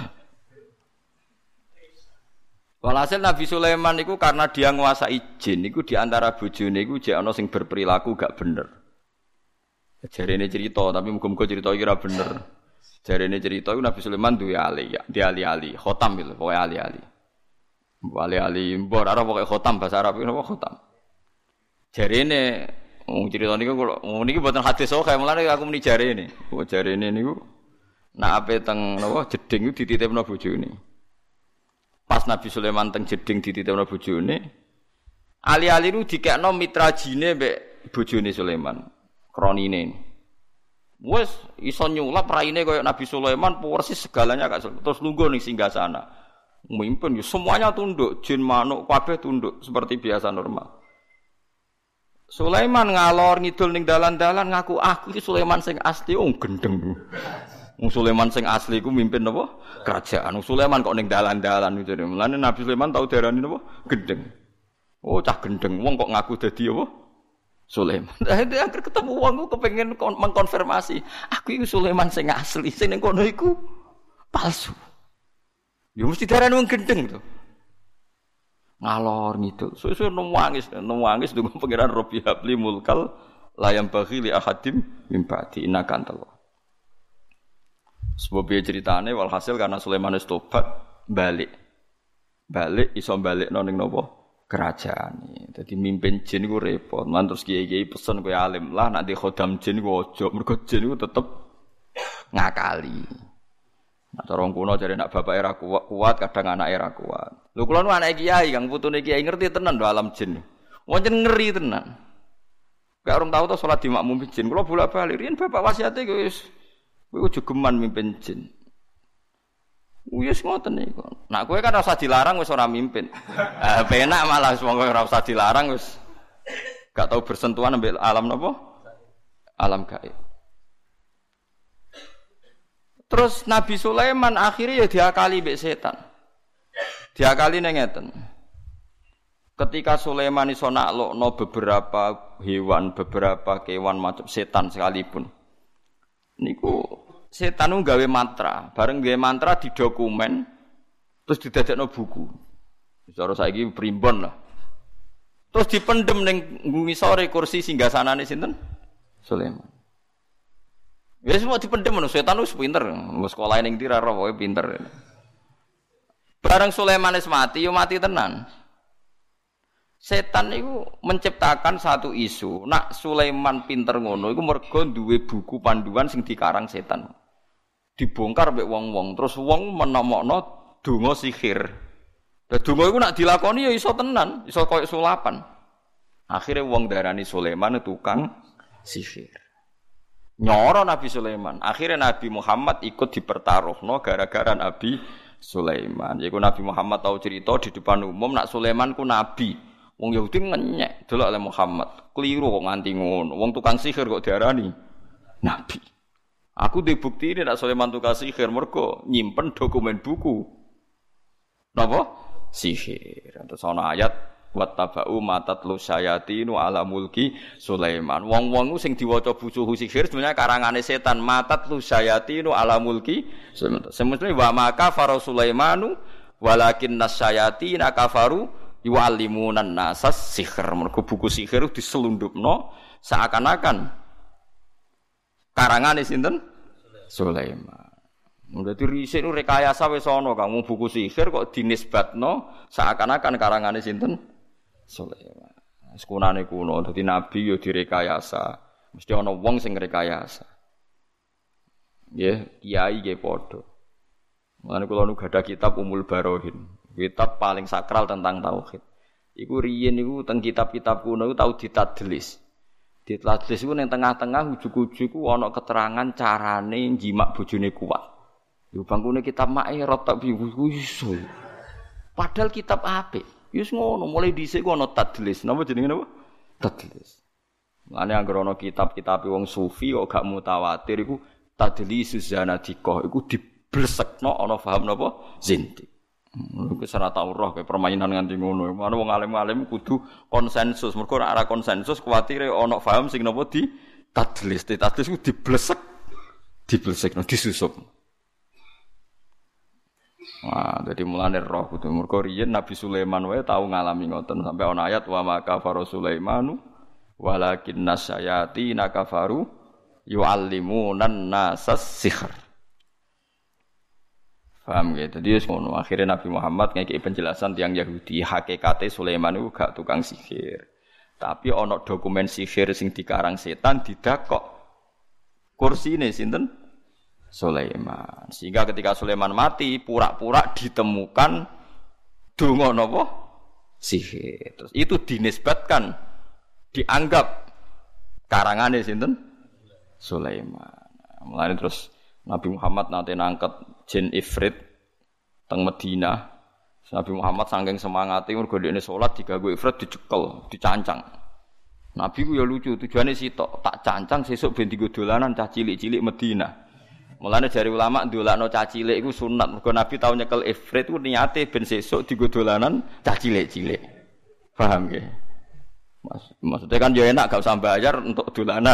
Walhasil Nabi Sulaiman itu karena dia nguasai jin, itu diantara bojone itu jek ana sing berperilaku gak bener. Jarene cerita, tapi muga-muga cerita iki ora bener. Jarene cerita iku Nabi Sulaiman duwe ali, ya, di ali-ali, khotam lho, pokoke ali-ali. Ali-ali mbor ora pokoke khotam bahasa Arab napa khotam. Jarene wong cerita niku kula niki mboten hadis sahih, mulane aku muni jarene. Kok jarene niku nak ape teng napa jeding iku dititipno bojone. Pas Nabi Sulaiman teng jeding dititipno bojone, ali-ali nu dikekno mitra jine mbek bojone Sulaiman, kronine. Wes iso nyulap raine kaya Nabi Sulaiman persis segalanya gak terus lungguh ning singgasana. Mimpin yo semuanya tunduk, jin manuk kabeh tunduk seperti biasa normal. Sulaiman ngalor ngidul ning dalan-dalan ngaku aku iki Sulaiman sing asli, oh gendeng. Wong Sulaiman sing asli ku mimpin napa? Kerajaan. Wong Sulaiman kok ning dalan-dalan gitu. Mulane Nabi Sulaiman tau diarani napa? Gendeng. Oh, cah gendeng. Wong kok ngaku dadi apa? Sulaiman. Lah akhir ketemu wong ku kepengin mengkonfirmasi, aku iku Sulaiman sing asli, sing ning kono iku palsu. Ya mesti diarani wong gendeng to. Ngalor ngidul. Suwe-suwe nangis, nangis ndonga pangeran Rabbi habli mulkal la yam baghi li ahadim mim ba'di innaka antal. Sebab dia ceritane walhasil karena Sulaiman wis tobat balik. Balik iso balikno ning napa? Kerajaan. Dadi mimpin jin iku repot. Lan terus kiai-kiai pesen kowe alim lah nek khodam jin iku aja. Mergo jin iku tetep ngakali. Nah, cara wong kuno jare nek bapak era kuat, kuat kadang anak era kuat. Lho kula nu anak kiai Kang putune kiai ngerti tenan lho alam jin. Wong jen ngeri tenan. Kayak orang tahu to salat di makmum jin. Kula bolak-balik riyen bapak wasiate wis kowe ojo geman mimpin jin. Wis ngoten niku. Nak kowe kan ora usah dilarang wis ora mimpin. Eh penak malah wis monggo ora usah dilarang wis gak tau bersentuhan ambek alam napa? Alam gaib. Terus Nabi Sulaiman akhirnya ya diakali mbek setan. Diakali nang ngeten. Ketika Sulaiman iso naklokno beberapa hewan, beberapa kewan macam setan sekalipun. Niku setan ku gawe mantra, bareng gawe mantra di dokumen terus didadekno buku. Cara saiki primbon lah. Terus dipendem ning ngisore kursi singgasanane sinten? Sulaiman. Ya semua dipendem ngono, setan wis pinter, wis sekolah ning ndi ra ora pokoke pinter. Bareng Sulaiman wis mati, yo mati tenan. Setan itu menciptakan satu isu. Nak Sulaiman pinter ngono iku mergo duwe buku panduan sing dikarang setan. Dibongkar mek wong-wong, terus wong menomokno donga sihir. Lah donga iku nak dilakoni ya iso tenan, iso koyo sulapan. Akhire wong darani Sulaiman tukang sihir. Nyoro Nabi Sulaiman. Akhire Nabi Muhammad ikut dipertaruhno gara-gara Nabi Sulaiman. Yaiku Nabi Muhammad tahu cerita di depan umum nak Sulaiman ku nabi. Wong Yahudi ngenyek delok oleh Muhammad. Keliru kok nganti ngono. Wong tukang sihir kok diarani nabi. Aku dibukti ini nak Sulaiman tukang sihir mergo nyimpen dokumen buku. Napa? Sihir. Terus ana ayat wattaba'u matatlu syayatinu ala mulki Sulaiman. Wong-wong sing diwaca buku sihir sebenarnya karangane setan. Matatlu syayatinu ala mulki Sulaiman. Semestine wa maka faro Sulaimanu walakin nasyayatina kafaru yu'allimunan nasas sihir. Mergo buku sihir diselundupno seakan-akan karangane sinten? Sulaiman. Dadi risik nu rekayasa wis ana Kang, buku sihir kok dinisbatno seakan-akan karangane sinten? Sulaiman. Sekunane kuno dadi nabi yo direkayasa. Mesti ana wong sing rekayasa. Nggih, kiai nggih padha. Mulane kula nu gadah kitab Umul Barohin. Kitab paling sakral tentang tauhid. Iku riyen niku teng kitab-kitab kuno iku tau ditadlis. Ditadlis iku ning tengah-tengah ujug-ujug ku ana keterangan carane njimak bojone kuat. Yo bangkune kitab Mae rotok iso. Padahal kitab apik. Wis ngono mulai dhisik ku ana tadlis. Napa jenenge napa? Tadlis. Mulane anggere ana kitab-kitab wong sufi kok gak mutawatir iku tadlisus zanadiqah iku diblekno ana paham napa? Zinti. Iku ora tau roh kaya permainan nganti ngono. Mane wong alim-alim kudu konsensus. Mergo ora ana konsensus kuwatire ana paham sing napa di tadlis. Tadlis ku diblesek. Diblesekno disusup. Wah, dadi mulane roh kudu mergo riyen Nabi Sulaiman wae tau ngalami ngoten sampai ana ayat wa maka faro Sulaimanu walakin nasyayati nakafaru yu'allimunan nasas sihr. Paham gitu. Jadi ngono akhirnya Nabi Muhammad ngekeki penjelasan tiyang Yahudi hakikate Sulaiman iku gak tukang sihir. Tapi ana dokumen sihir sing dikarang setan didakok. Kursine sinten? Sulaiman. Sehingga ketika Sulaiman mati, pura-pura ditemukan donga napa? Sihir. Terus itu dinisbatkan dianggap karangane sinten? Sulaiman. Mulane terus Nabi Muhammad nate nangket jin ifrit teng Madinah. Nabi Muhammad saking semangate mergo dekne salat diganggu ifrit dicekel, dicancang. Nabi ku ya lucu, tujuane sitok, tak cancang sesuk ben dienggo dolanan cah cilik-cilik Madinah. Mulane jari ulama ndolakno cah cilik iku sunat. Mergo Nabi tau nyekel ifrit ku niate ben sesuk dienggo dolanan cah cilik-cilik. Paham nggih? Mas, maksudnya kan ya enak gak usah bayar untuk dolanan.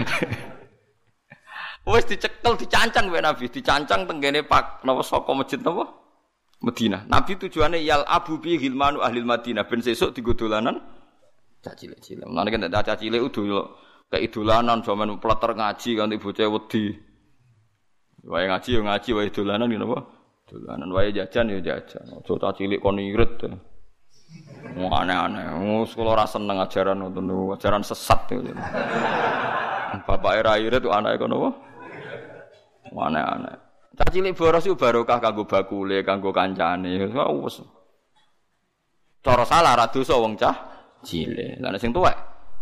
Wes dicekel dicancang wae Nabi, dicancang tenggene Pak napa saka masjid napa? Madinah. Nabi tujuane yal abu bi hilmanu ahli Madinah ben sesuk dienggo dolanan cah cilik-cilik. Mulane kan cah cilik udah kaya dolanan jaman pleter ngaji kanthi bocah wedi. Wae ngaji yo ngaji, wae dolanan ngene apa? Dolanan wae jajan yo jajan. Aja cah cilik kon irit. Wong aneh-aneh. Wong sekolah ora seneng ajaran ngoten niku, ajaran sesat niku. Bapake ra irit kok anake kono apa? Aneh-aneh. Cah cilik boros iku barokah kanggo bakule, kanggo kancane. Wes. Cara salah ra dosa wong cah cilik. Lah nek sing tuwek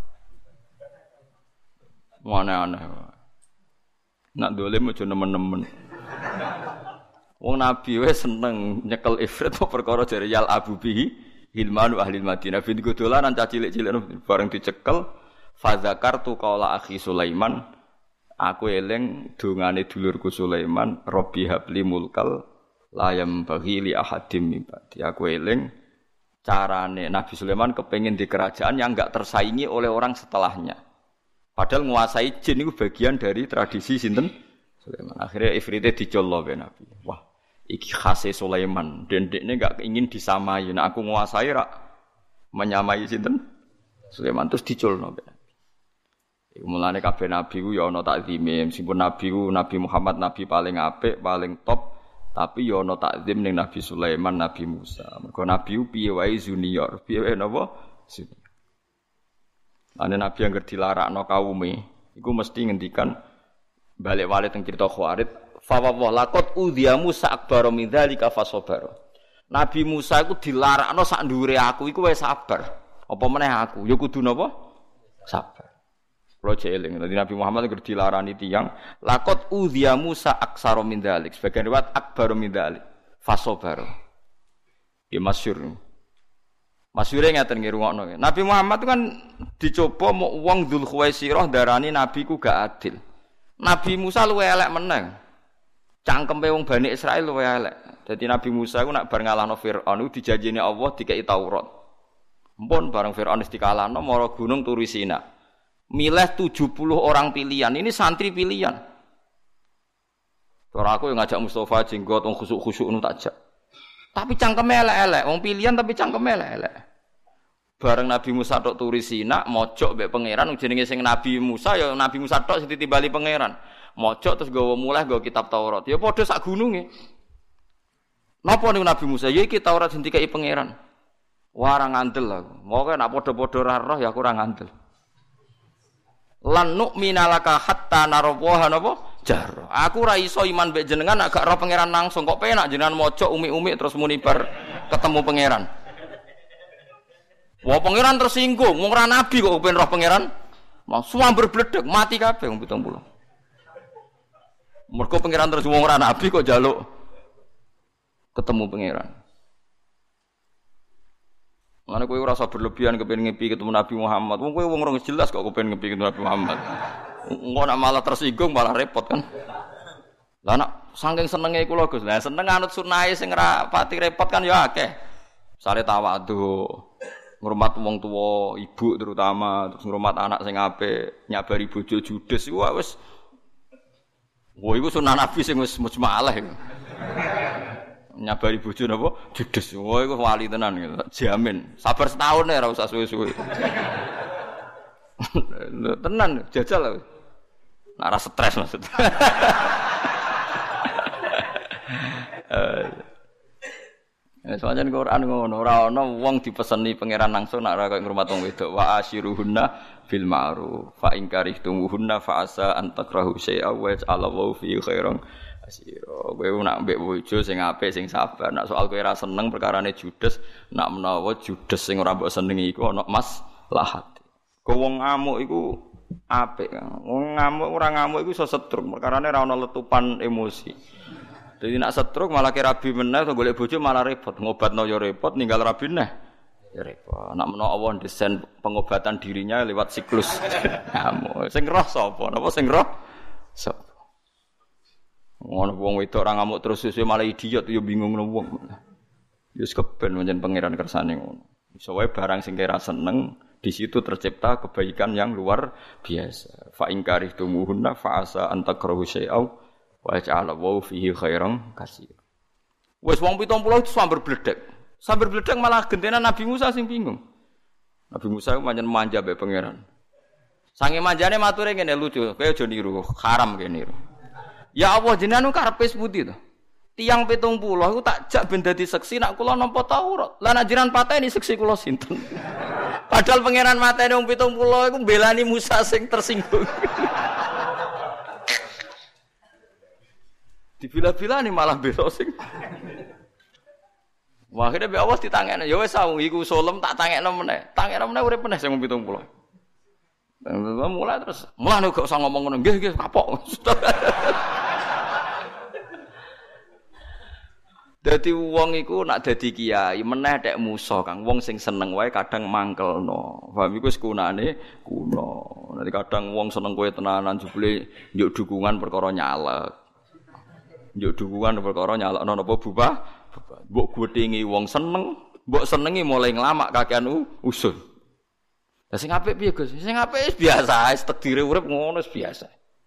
aneh-aneh. Nak dolim aja nemen-nemen. Wong Nabi wis seneng nyekel ifrit kok perkara jare yal abu bihi hilmanu ahli Madinah. Bin dolanan cah cilik-cilik bareng dicekel fa zakartu qaula akhi Sulaiman Aku eling dongane dulurku Sulaiman, Rabbi habli mulkal layam bagi li ahadim min ba'di. Aku eling carane Nabi Sulaiman kepengin di kerajaan yang enggak tersaingi oleh orang setelahnya. Padahal nguasai jin itu bagian dari tradisi sinten Sulaiman. Akhirnya ifrite dicollo be Nabi. Wah, iki khase Sulaiman. Dendekne enggak ingin disamai. Nah aku nguasai rak menyamai sinten Sulaiman terus dicolno be. Iku mulane kabeh nabi ku ya ana takzime, meskipun nabi ku Nabi Muhammad nabi paling apik, paling top, tapi ya ana takzim ning Nabi Sulaiman, Nabi Musa. Mergo nabi ku piye wae junior, piye wae napa? Junior. Ane nabi yang dilarakno kaume, iku mesti ngendikan balik wale teng crita Khawarid, fa wa laqad udhiya Musa akbar min dzalika fasabar. Nabi Musa iku dilarakno sak ndure aku iku wis sabar. Apa meneh aku? Ya kudu napa? Sabar. Kalau jeeling, tadi Nabi Muhammad itu dilarani tiang. Lakot udhiya Musa aksaro min dzalik. Sebagian riwayat akbaru min dzalik. Fasobaro. Ya masyhur. Masyhure ngaten ngrungokno. Nabi Muhammad itu kan dicoba mau wong Dzul Khuwaisirah darani nabi ku gak adil. Nabi Musa luwe elek meneng. Cangkempe wong Bani Israil luwe elek. Dadi Nabi Musa ku nak bar ngalahno Firaun iku dijanjini Allah dikei Taurat. Mpun bareng Firaun wis dikalahno mara gunung turu Sina. Milih tujuh puluh orang pilihan. Ini santri pilihan. Cara aku yang ngajak Mustafa jenggot wong khusuk-khusuk nu takjak. Tapi cangkeme elek-elek, wong pilihan tapi cangkeme elek-elek. Bareng Nabi Musa tok turu Sina, mojok mbek pangeran jenenge sing Nabi Musa ya Nabi Musa tok sing ditimbali pangeran. Mojok terus gawa muleh gawa kitab Taurat. Ya padha sak gununge. Napa niku Nabi Musa? Ya iki Taurat sing dikai pangeran. Wah ora ngandel aku. Moga nek padha-padha ora roh ya aku ora ngandel. Lan nu'mina laka hatta narawaha napa jar. Aku ora iso iman mbek jenengan nek gak roh pangeran langsung. Kok penak jenengan maca umi-umi terus muni bar ketemu pangeran. Wah pangeran tersinggung, wong ora nabi kok kepen roh pangeran. Mau suamber bledek mati kabeh wong pitung puluh. Mergo pangeran terus wong ora nabi kok njaluk ketemu pangeran. Mana kowe ora usah berlebihan kepen ngepi ketemu Nabi Muhammad. Wong kowe wong ora jelas kok kepen ngepi ketemu Nabi Muhammad. Engko nak malah tersinggung malah repot kan. Lah nak saking senenge kula Gus. Lah seneng anut sunahe sing ora pati repot kan ya akeh. Sare tawadhu, ngurmat wong tuwa, ibu terutama, terus ngurmat anak sing apik, nyabari bojo judes iku wis. Wah iku sunah Nabi sing wis mujmalah iku. Nyabari bojo napa judes. Wah iku wali tenan gitu. Jamin. Sabar setahun ya ora usah suwe-suwe. Tenan jajal lho. Nek ora stres maksud. Eh soalnya ning Quran ngono, ora ana wong dipeseni pangeran langsung nek ora kaya ngrumat wong wedok. Wa asyiruhunna bil ma'ruf. Fa in karihtumuhunna fa asa an takrahu syai'a wa ja'alallahu fi khairan. Asiro, kowe nak mbek bojo sing apik sing sabar. Nak soal kowe ora seneng perkarane judes, nak menawa judes sing ora mbok senengi iku ana maslahat. Kowe wong ngamuk iku apik. Wong ngamuk ora ngamuk iku iso setruk, perkarane ora ana letupan emosi. Dadi nak setruk malah ki rabi meneh to golek bojo malah repot. Ngobatno ya repot, ninggal rabi neh. Ya repot. Nak menawa Allah desain pengobatan dirinya lewat siklus ngamuk. Sing roh sapa? Napa sing roh? Sapa? Ngono wong wedok ora ngamuk terus sesuk malah idiot ya bingung ngono wong. Ya wis keben pancen pangeran kersane ngono. Iso wae barang sing kira seneng, di situ tercipta kebaikan yang luar biasa. Fa in karihtumuhunna fa asa an takrahu syai'aw wa ja'ala wa fihi khairan katsir. Wis wong pitung puluh itu sambar bledek. Sambar bledek malah gentenan Nabi Musa sing bingung. Nabi Musa pancen manja mbek pangeran. Sange manjane mature ngene lucu, kowe aja niru, haram kene niru. Ya Allah jenengan karepe sepundi to? Tiang pitung puluh iku tak jak ben dadi seksi nak kula nampa Taurat. Lah nek jenengan pateni seksi kula sinten? Padahal pangeran mateni wong pitung puluh iku mbelani Musa sing tersinggung. Dibila-bilani malah bela sing. Wah akhirnya be awas ditangekno. Ya wis saung iku solem tak tangekno meneh. Tangekno meneh urip meneh sing pitung puluh. Mulai terus, mulai nih gak usah ngomong ngono, nggih nggih kapok. Dadi wong iku nak dadi kiai meneh tek musa Kang wong sing seneng wae kadang mangkelno. Paham iku wis kunane kuno. Nanti kadang wong seneng kowe tenanan jebule njuk dukungan perkara nyalek. Njuk dukungan perkara nyalekno napa bubah? Mbok gothingi wong seneng, mbok senengi mulai nglamak kakean usul. Lah sing apik piye Gus? Sing apik wis biasa, wis takdire urip ngono wis biasa.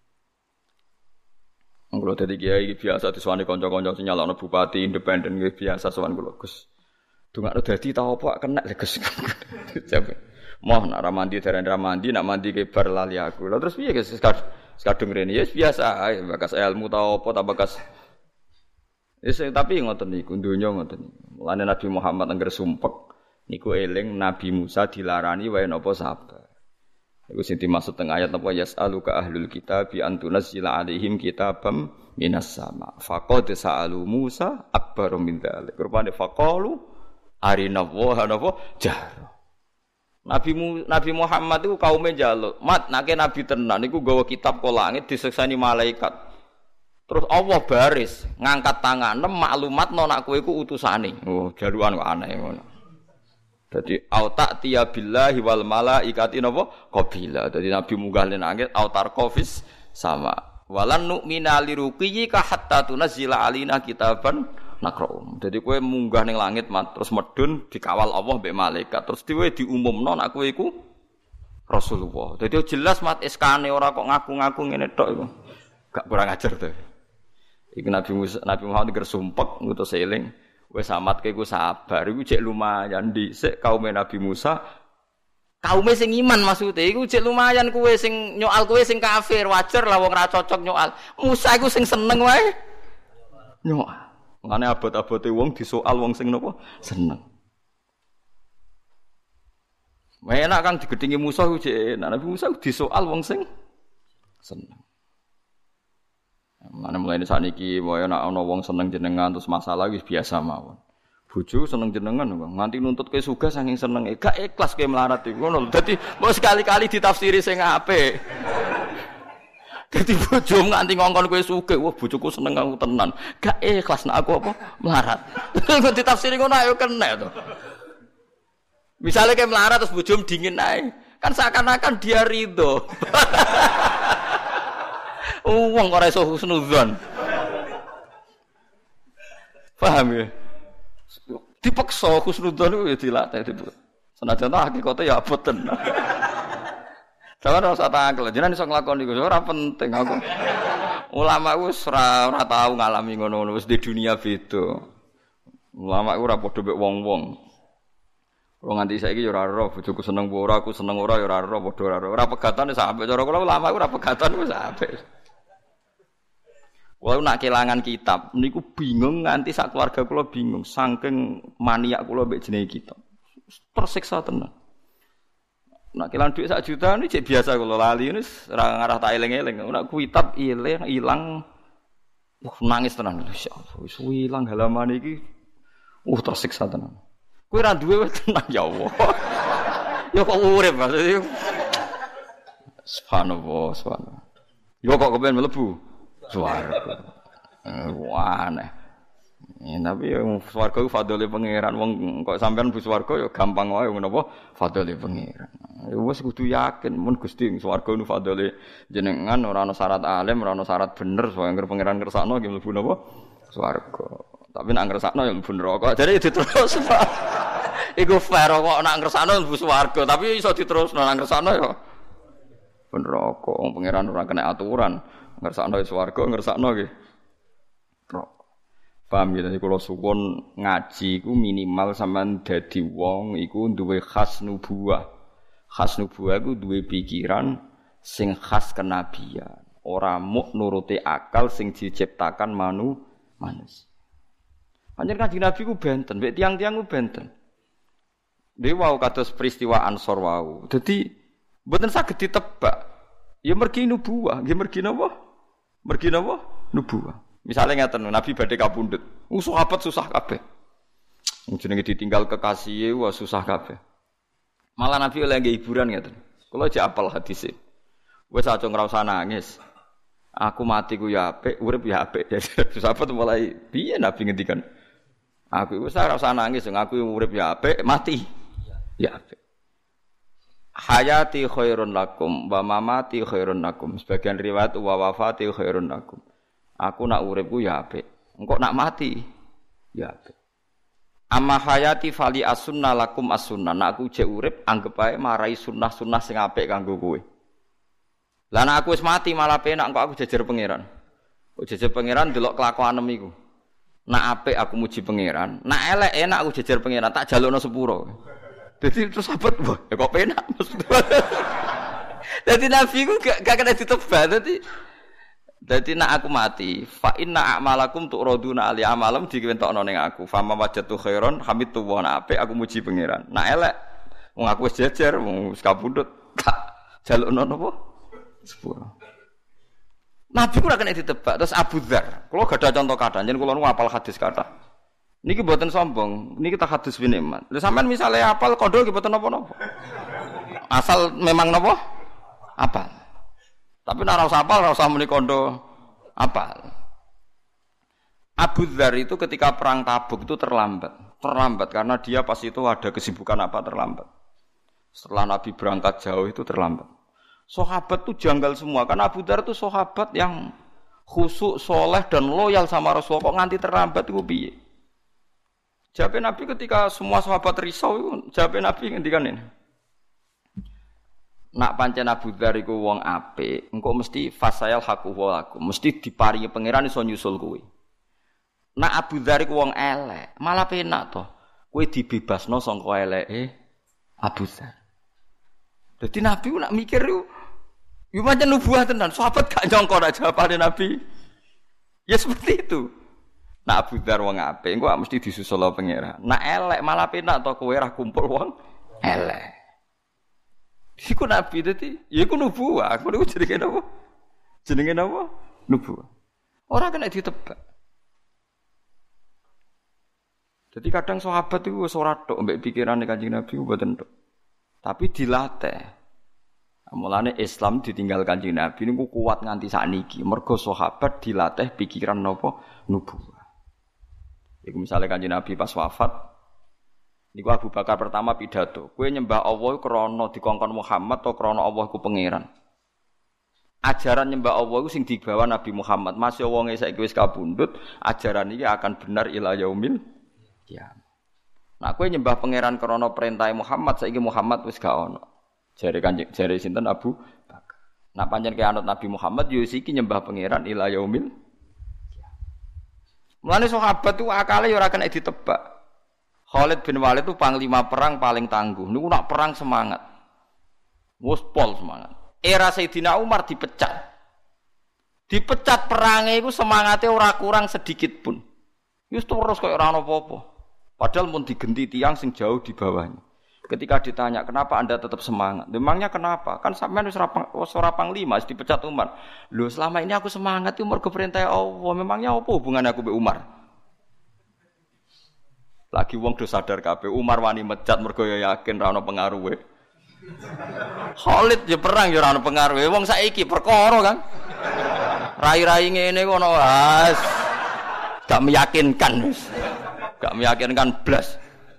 Kalau dari kiai biasa diswani kanca-kanca sing nyalakno bupati independen nggih biasa sowan kula Gus. Dongakno dadi ta apa kena lho Gus. Moh nak ra mandi darane ra mandi nak mandi ke bar lali aku. Lah terus piye Gus kadung rene ya biasa ae bakas ilmu ta apa ta bakas. Wis tapi ngoten niku donya ngoten niku. Mulane Nabi Muhammad angger sumpek niku eling Nabi Musa dilarani wae napa sabar. Iku sing dimaksud teng ayat apa yas'aluka ahlul kitab bi antunazzila alaihim kitabam minas sama. Faqad sa'alu Musa akbaru min dzalik. Rupane faqalu arina wa hanafa jahra. Nabi Nabi Muhammad itu kaume njaluk, "Mat, nake nabi tenan iku nggawa kitab ka langit diseksani malaikat." Terus Allah baris ngangkat tangan maklumat no nak kowe iku utusane. Oh, jalukan kok aneh ngono. Dadi auta tiya billahi wal malaikati napa qabila. Dadi nabi munggah ning langit autar qafis sama. Walan nu'mina liruqiyika hatta tunazzila alina kitaban naqra'um. Dadi kowe munggah ning langit mat terus medun dikawal Allah mbek malaikat. Terus dhewe diumumno nek kowe iku Rasulullah. Dadi jelas mat eskane ora kok ngaku-ngaku ngene tok iku. Gak kurang ajar to. Iku Nabi Musa, Nabi Muhammad gersumpek ngutus eling. Wes amat ke iku sabar, iku cek lumayan dhisik kaum Nabi Musa. Kaume sing iman maksude iku cek lumayan kowe sing nyoal kowe sing kafir, wajar lah wong ora cocok nyoal. Musa iku sing seneng wae. Nyoal. Ngene abot-abote wong disoal wong sing napa? Seneng. Wae enak kan digedhingi Musa iku cek enak. Nabi Musa disoal wong sing seneng. Mana mulai ini saat ini, mau nak ono wong seneng jenengan terus masalah wis biasa mawon. Bojo seneng jenengan, nganti nuntut ke suga saking seneng, gak ikhlas ke melarat itu. Ngono, jadi mau sekali-kali ditafsiri sing apik. Jadi bojo nganti ngongkon ke suga, wah bojoku seneng aku tenan, gak ikhlas nak aku apa melarat. Kok ditafsiri ngono ayo kena to. Misalnya ke melarat terus bojo dingin ae, kan seakan-akan dia ridho. Wong ora iso husnudzon. Paham ya? Dipaksa husnudzon itu ya dilatih itu. Senajan ta hakikate ya abot tenan. Jangan ora usah tangkel, jenengan iso nglakoni iku ora penting aku. Ulama wis ora ora tau ngalami ngono-ngono wis di dunia beda. Ulama iku ora padha mek wong-wong. Wong nganti saiki ya ora ora bojoku seneng ora aku seneng ora ya ora ora padha ora ora. Ora pegatan wis apik cara kula ulama iku ora pegatan wis apik. Walau nak kelangan kitab, niku bingung nganti sak keluarga kula bingung, saking maniak kula mbek jenenge kitab. Tersiksa tenan. Nak kelangan dhuwit sak juta ini cek biasa kula lali wis ora ngarah tak eling-eling. Nak kitab ilang ilang uh, nangis tenan insyaallah. Wis ilang halaman iki. Uh tersiksa tenan. Kowe ora duwe tenan ya Allah. Ya kok urip maksudnya. Subhanallah, subhanallah. Yo kok kepen mlebu swarga. Wah aneh. Ya, tapi yang swarga itu fadhole pangeran wong kok sampean bu swarga ya gampang wae ngono apa fadhole pangeran. Ya wis kudu yakin mun Gusti swarga niku fadhole jenengan ora ana syarat alim, ora ana syarat bener supaya anggere pangeran ngersakno nggih mlebu napa swarga. Tapi nek ngersakno ya mlebu neraka. Jadi diterus. Iku fair kok nek ngersakno mlebu swarga, tapi iso diterusno nek ngersakno ya neraka. Wong pangeran ora kena aturan. Ngersakno swarga, ngersakno nggih. Paham ya, kula suwun ngaji iku minimal sampean dadi wong iku duwe khas nubuwah. Khas nubuwah iku duwe pikiran sing khas kenabian. Ora muk nuruti akal sing diciptakan manu manusia. Panjenengan Kanjeng Nabi ku benten, mek tiang-tiang ku benten. Dhewe wau kados peristiwa Ansor wau. Dadi mboten saged ditebak. Ya mergi nubuwah, nggih mergi napa? Mergi napa? Nubuwah. Misale ngaten Nabi badhe kapundhut. Uh sahabat susah kabeh. Jenenge ditinggal kekasih wah susah kabeh. Malah Nabi oleh nggih hiburan ngaten. Kula jek apal hadise. Wis aja ngrasa nangis. Aku mati ku ya apik, urip ya apik. Sahabat mulai piye Nabi ngendikan? Aku iku ora usah nangis, aku urip ya apik, mati ya apik. Hayati khairun lakum wa mamati khairun lakum. Sebagian riwayat wa wafati khairun lakum. Aku nak uripku ya apik. Engko nak mati ya apik. Amma hayati fali as-sunnah lakum as-sunnah. Nak aku jek urip anggap ae marai sunnah-sunnah sing apik kanggo kowe. Lah nek aku wis mati malah penak engko aku jejer pangeran. Kok jejer pangeran delok kelakuanem iku. Nak apik aku muji pangeran, nak elek enak aku jejer pangeran tak jalukno sepuro. Dadi terus sahabat, wah, ya kok penak maksudnya. Dadi nabi ku gak gak kena ditebak. Dadi dadi nak aku mati, fa inna a'malakum tu'raduna ali amalam diwentokno ning aku. Fa ma wajatu khairon hamidtu wa apik aku muji pangeran. Nak elek wong aku wis jejer, wong wis kabundut. Tak jalukno napa? Sepuro. Nabi ku ora kena ditebak. Terus Abu Dzar, kula gadah contoh kathah, yen kula nu hafal hadis kathah. Niki mboten sombong, niki tak hadis bin nikmat. Lha sampean misale hafal kondo nggih mboten napa-napa. Asal memang napa? Hafal. Tapi nek ora usah hafal, ora usah muni kondo hafal. Abu Dzar itu ketika perang Tabuk itu terlambat. Terlambat karena dia pas itu ada kesibukan apa terlambat. Setelah Nabi berangkat jauh itu terlambat. Sahabat itu janggal semua karena Abu Dzar itu sahabat yang khusyuk, soleh dan loyal sama Rasulullah. Kok nganti terlambat iku piye? Jawab Nabi ketika semua sahabat risau itu, jawab Nabi ngendikan ini. Nak pancen Abu Dzar iku wong apik, engko mesti fasayal haqqu wa lakum, mesti diparingi pangeran iso nyusul kowe. Nak Abu Dzar iku wong elek, malah penak to. Kowe dibebasno saka eleke Abu Dzar. Dadi Nabi ku nak mikir yo yo pancen nubuah tenan, sahabat gak nyangka nak jawabane Nabi. Ya seperti itu. Nak Abu Dzar wong apik, engko mesti disusul pangeran. Nak elek malah penak to kowe ora kumpul wong elek. Iku Nabi dadi, ya iku nubuah. Aku niku jenenge napa? Jenenge napa? Nubuah. Ora kena ditebak. Jadi kadang sahabat itu wis ora tok mbek pikirane Kanjeng Nabi mboten tok. Tapi dilatih. Mulane Islam ditinggal Kanjeng Nabi niku kuat nganti sakniki. Mergo sahabat dilatih pikiran napa? Nubuah. Iku misale Kanjeng Nabi pas wafat, niku Abu Bakar pertama pidato, kowe nyembah Allah krana dikongkon Muhammad atau krana Allah iku pangeran. Ajaran nyembah Allah iku sing digawa Nabi Muhammad, masih wonge saiki wis kabundut, ajaran iki akan benar ila yaumil qiyamah. Nah kowe nyembah pangeran krana perintah Muhammad, saiki Muhammad wis gak ono. Jare Kanjeng jare sinten Abu Bakar. Nah pancen ke anut Nabi Muhammad yo iki nyembah pangeran ila yaumil. Mulane sahabat itu akale ya ora kena ditebak. Khalid bin Walid itu panglima perang paling tangguh. Niku nak perang semangat. Wes pol semangat. Era Sayyidina Umar dipecat. Dipecat perange iku semangate ora kurang sedikit pun. Wis terus koyo ora ono apa-apa. Padahal mun digenti tiyang sing jauh di bawahnya. Ketika ditanya, "Kenapa Anda tetap semangat?" Memangnya kenapa? Kan sampean wis ora panglima, wis dipecat Umar. Lho, selama ini aku semangat itu mergo perintah Allah. Memangnya apa hubungannya aku mbek Umar? Lagi wong do sadar kabeh Umar wani mecat mergo ya yakin ra ono pengaruhe. Khalid ya perang ya ora ono pengaruhe. Wong saiki perkara kan. Rai-rai ngene ngono wis gak meyakinkan wis. Gak meyakinkan blas.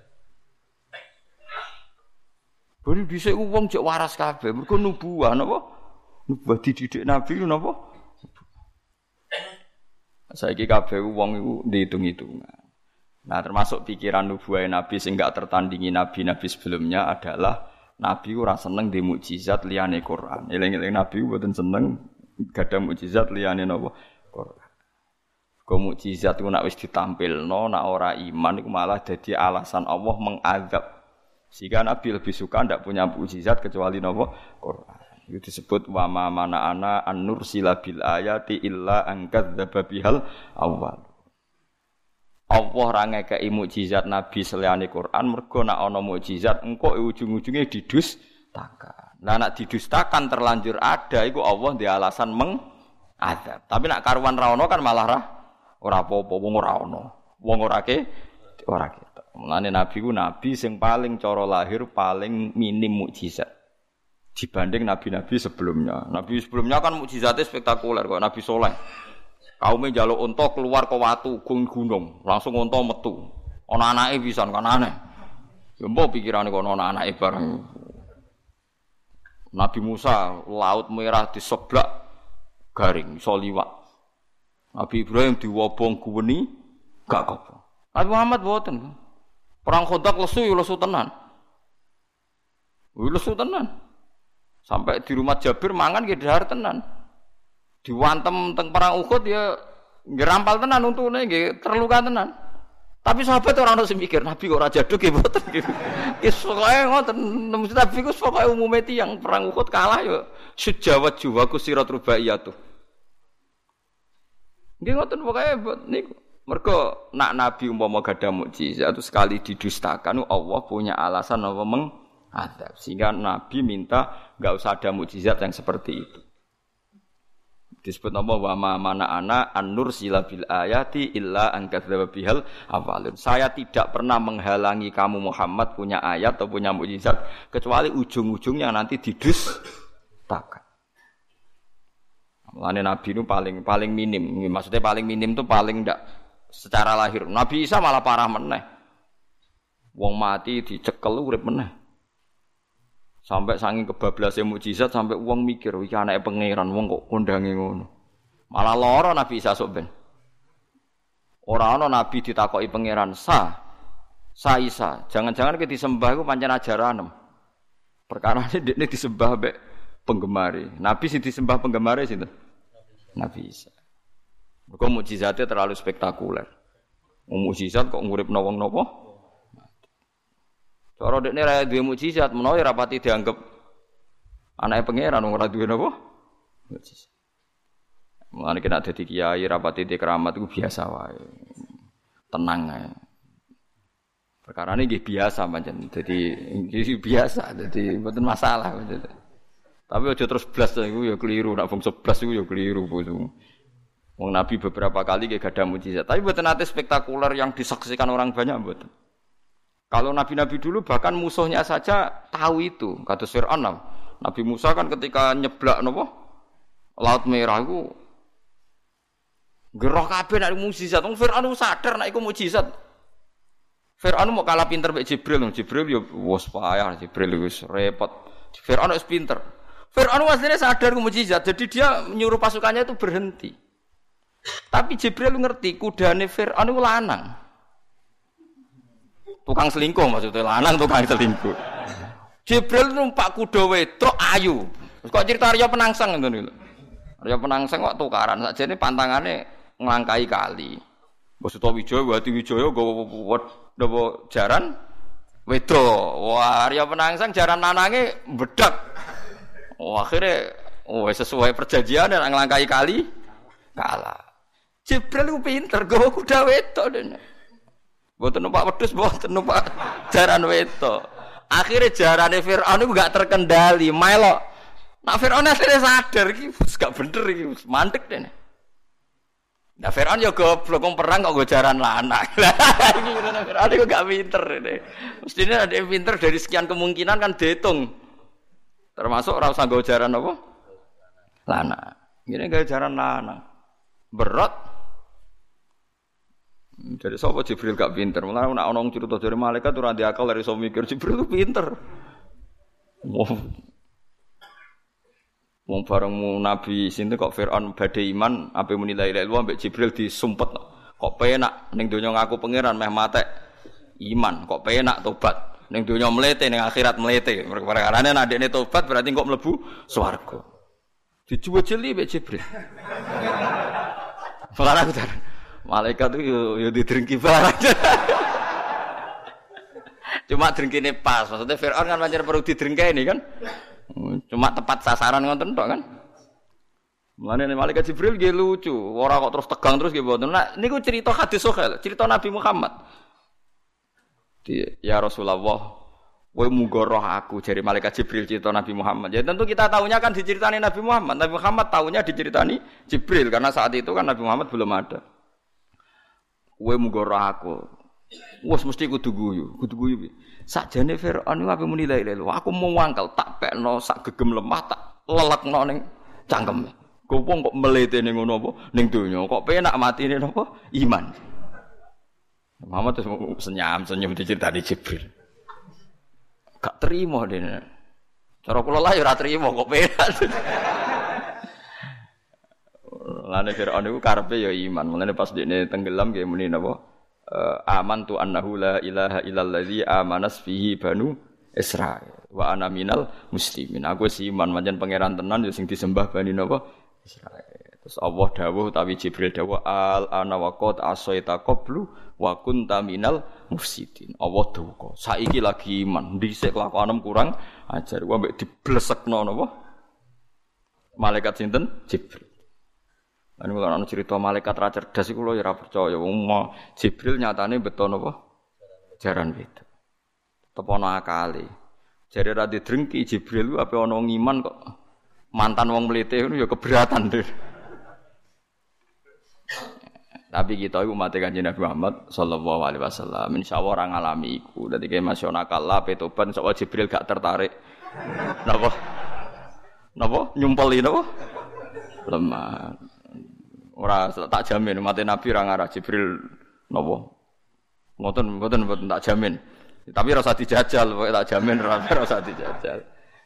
Bari dhisik wong jek waras kabeh, mergo nubuah napa? Nubuah dididik Nabi napa? Saiki kabeh wong iku diitung-itungan. Nah, termasuk pikiran nubuah Nabi sing gak tertandingi nabi-nabi sebelumnya adalah Nabi ora seneng di mukjizat liyane Quran. Eling-eling Nabi mboten seneng gadah mukjizat liyane napa? Quran. Kok mukjizat ku nek wis ditampilno, nek ora iman iku malah dadi alasan Allah mengazab. Sehingga Nabi lebih suka tidak punya mukjizat kecuali napa Quran. Itu disebut wa ma mana ana an-nursila bil ayati illa an kadzdzaba bihal awal. Allah ra ngekeki mukjizat Nabi seliyane Quran mergo nek ana mukjizat engko ujung-ujunge didustakan. Lah nek didustakan terlanjur ada iku Allah ndek alasan mengazab. Tapi nek karuan ra ono kan malah ra ora apa-apa wong ora ono. Wong ora ke ora ke. Mulane Nabi ku nabi sing paling cara lahir paling minim mukjizat dibanding nabi-nabi sebelumnya. Nabi sebelumnya kan mukjizatnya spektakuler kok Nabi Saleh. Kaume njaluk unta keluar ke watu gung gunung, langsung unta metu. Ana anake pisan kan aneh. Ya mbok pikirane kok ana anake bareng. Nabi Musa laut merah diseblak garing iso liwat. Nabi Ibrahim diwobong guweni gak apa. Nabi Muhammad boten. Perang Khandaq lesu ya lesu tenan. Lesu tenan. Sampai di rumah Jabir mangan nggih dahar tenan. Diwantem teng perang Uhud ya ngerampal tenan untune nggih terluka tenan. Tapi sahabat ora ono sing mikir Nabi kok ora jaduk nggih mboten nggih. Wis pokoke ngoten Nabi ku pokoke umume tiyang perang Uhud kalah ya sejawat juwaku sirat rubaiyatu. Nggih ngoten pokoke niku. Mergo nak Nabi umpama gadah mukjizat itu sekali didustakan Allah punya alasan apa mengadab. Sehingga Nabi minta enggak usah ada mukjizat yang seperti itu. Disebut nama wa ma mana ana an-nur sila bil ayati illa an kadzdzaba bihal awalun. Saya tidak pernah menghalangi kamu Muhammad punya ayat atau punya mukjizat kecuali ujung-ujungnya nanti didustakan. Mulane Nabi itu paling paling minim. Maksudnya paling minim itu paling ndak secara lahir. Nabi Isa malah parah meneh. Wong mati dicekel urip meneh. Sampai saking kebablase mukjizat sampai wong mikir iki anake pangeran wong kok kondange ngono. Malah lara Nabi Isa sok ben. Ora ana nabi ditakoki pangeran, "Sa, Sa Isa, jangan-jangan ki disembah iku pancen ajaranem." Perkarane dekne disembah mbek penggemare. Nabi sing disembah penggemare sinten? Nabi Isa. Mergo mukjizate terlalu spektakuler. Mukjizat kok nguripno wong napa? Cara dekne ra duwe mukjizat, menawa ora pati dianggep anake pangeran ora duwe napa? Mukjizat. Mulane kena dadi kiai ra pati di keramat iku biasa wae. Tenang ae. Perkarane nggih biasa pancen. Dadi nggih biasa, dadi mboten masalah pancen. Tapi aja terus blas iku ya keliru, nek bangsa blas iku ya keliru boso. Wong Nabi beberapa kali nggih gadah mukjizat, tapi mboten nate spektakuler yang disaksikan orang banyak mboten. Kalau nabi-nabi dulu bahkan musuhnya saja tahu itu. Kata Fir'aun, Nabi Musa kan ketika nyeblak napa? Laut Merah iku gerah kabeh nek mukjizat. Wong Fir'aun sadar nek iku mukjizat. Fir'aun mau kalah pinter mek Jibril. Jibril ya wis payah, Jibril wis repot. Fir'aun wis pinter. Fir'aun asline sadar iku mukjizat. Jadi dia menyuruh pasukannya itu berhenti. Tapi Jibril ngerti kudane Fir'aun iku lanang. Tukang selingkuh maksudnya lanang tukang selingkuh. Jibril numpak kuda wedok ayu. Kok cerita Arya Penangsang ngoten lho. Arya Penangsang kok tukaran sakjane pantangane nglangkai kali. Mbok Sutawijaya Wati Wijaya nggawa jaran wedok. Wah, Arya Penangsang jaran lanange bedak. Wah, akhire oh sesuai perjanjian nek nglangkai kali kalah. Jibril ku pinter nggawa kuda wedok dene. Mboten numpak wedhus, mboten numpak jaran wedok. Akhire jarane Firaun iku gak terkendali, melok. Nak Firaun asline sadar iki wis gak bener iki, wis mandek dene. Nah Firaun yo goblok wong perang kok go jaran lanang. Iki ngono Firaun iku gak pinter dene. Mestine ada yang pinter dari sekian kemungkinan kan dihitung. Termasuk ora usah go jaran apa? Lanang. Ngene gawe jaran lanang. Berat. Jadi sapa Jibril gak pinter. Mulane nek ana wong cerita dari malaikat ora ndek akal iso mikir Jibril ku pinter. Wong Wong bareng Nabi sinten kok Firaun badhe iman ape muni la ilaha illallah mbek Jibril disumpet. Kok penak ning donya ngaku pangeran meh matek iman, kok penak tobat. Ning donya mlete ning akhirat mlete. Perkarane nek ndekne tobat berarti kok mlebu swarga. Dijuwejeli mbek Jibril. Ora kudu. Malaikat itu yo yo didrengki barang. Cuma drengkine pas. Maksudnya Firaun kan pancen perlu didrengkeni kan. Cuma tepat sasaran ngoten tok kan. Mulane malaikat Jibril nggih lucu, ora kok terus tegang terus nggih mboten. Nah niku cerita hadis sahih, cerita Nabi Muhammad. Di, ya Rasulullah, kowe muga roh aku jare malaikat Jibril cerita Nabi Muhammad. Ya tentu kita tahunya kan diceritani Nabi Muhammad. Nabi Muhammad tahunya diceritani Jibril karena saat itu kan Nabi Muhammad belum ada. Kowe muga roh aku. Wes mesti kudu guyu, kudu guyu. Sakjane Firaun iku ape muni la ilaha illallah. Aku mau wangkel tak pekno sak gegem lemah tak lelekno ning cangkeme. Kok wong kok mlete ning ngono apa ning donya. Kok penak matine napa? Iman. Muhammad terus senyum-senyum diceritani Jibril. Gak terima dene. Cara kula lah ya ora terima kok penak. Lane Firaun iku karepe ya iman. Mulane pas dekne tenggelam nggih muni napa? Uh, aman tu annahu la ilaha illalladzi amanas fihi banu Israil wa ana minal muslimin. Aku wis iman pancen pangeran tenan ya sing disembah bani napa? Israil. Terus Allah dawuh utawi Jibril dawuh al ana waqad asaita qablu wa kunta minal mufsidin. Allah duka. Saiki lagi iman, dhisik kelakuanem kurang ajar. Ku ambek diblesekno napa? Malaikat sinten? Jibril. Lan kula ana cerita malaikat ra cerdas iku lho ya ora percaya. Wong Jibril nyatane beto napa? Jaran beda. Tepono akale. Jare ra didrengki Jibril ku ape ana wong iman kok mantan wong mlete ngono ya keberatan deh. Tapi kita iku umat Kanjeng Nabi Muhammad sallallahu alaihi wasallam insyaallah ora ngalami iku. Dadi ke masyaallah kala petoban sapa Jibril gak tertarik. Napa? Napa? Nyumpeli napa? Lemah. Ora tak jamin umat Nabi ora ngarah Jibril napa? Ngoten mboten mboten tak jamin. Tapi ora usah dijajal, pokoke tak jamin ora usah dijajal.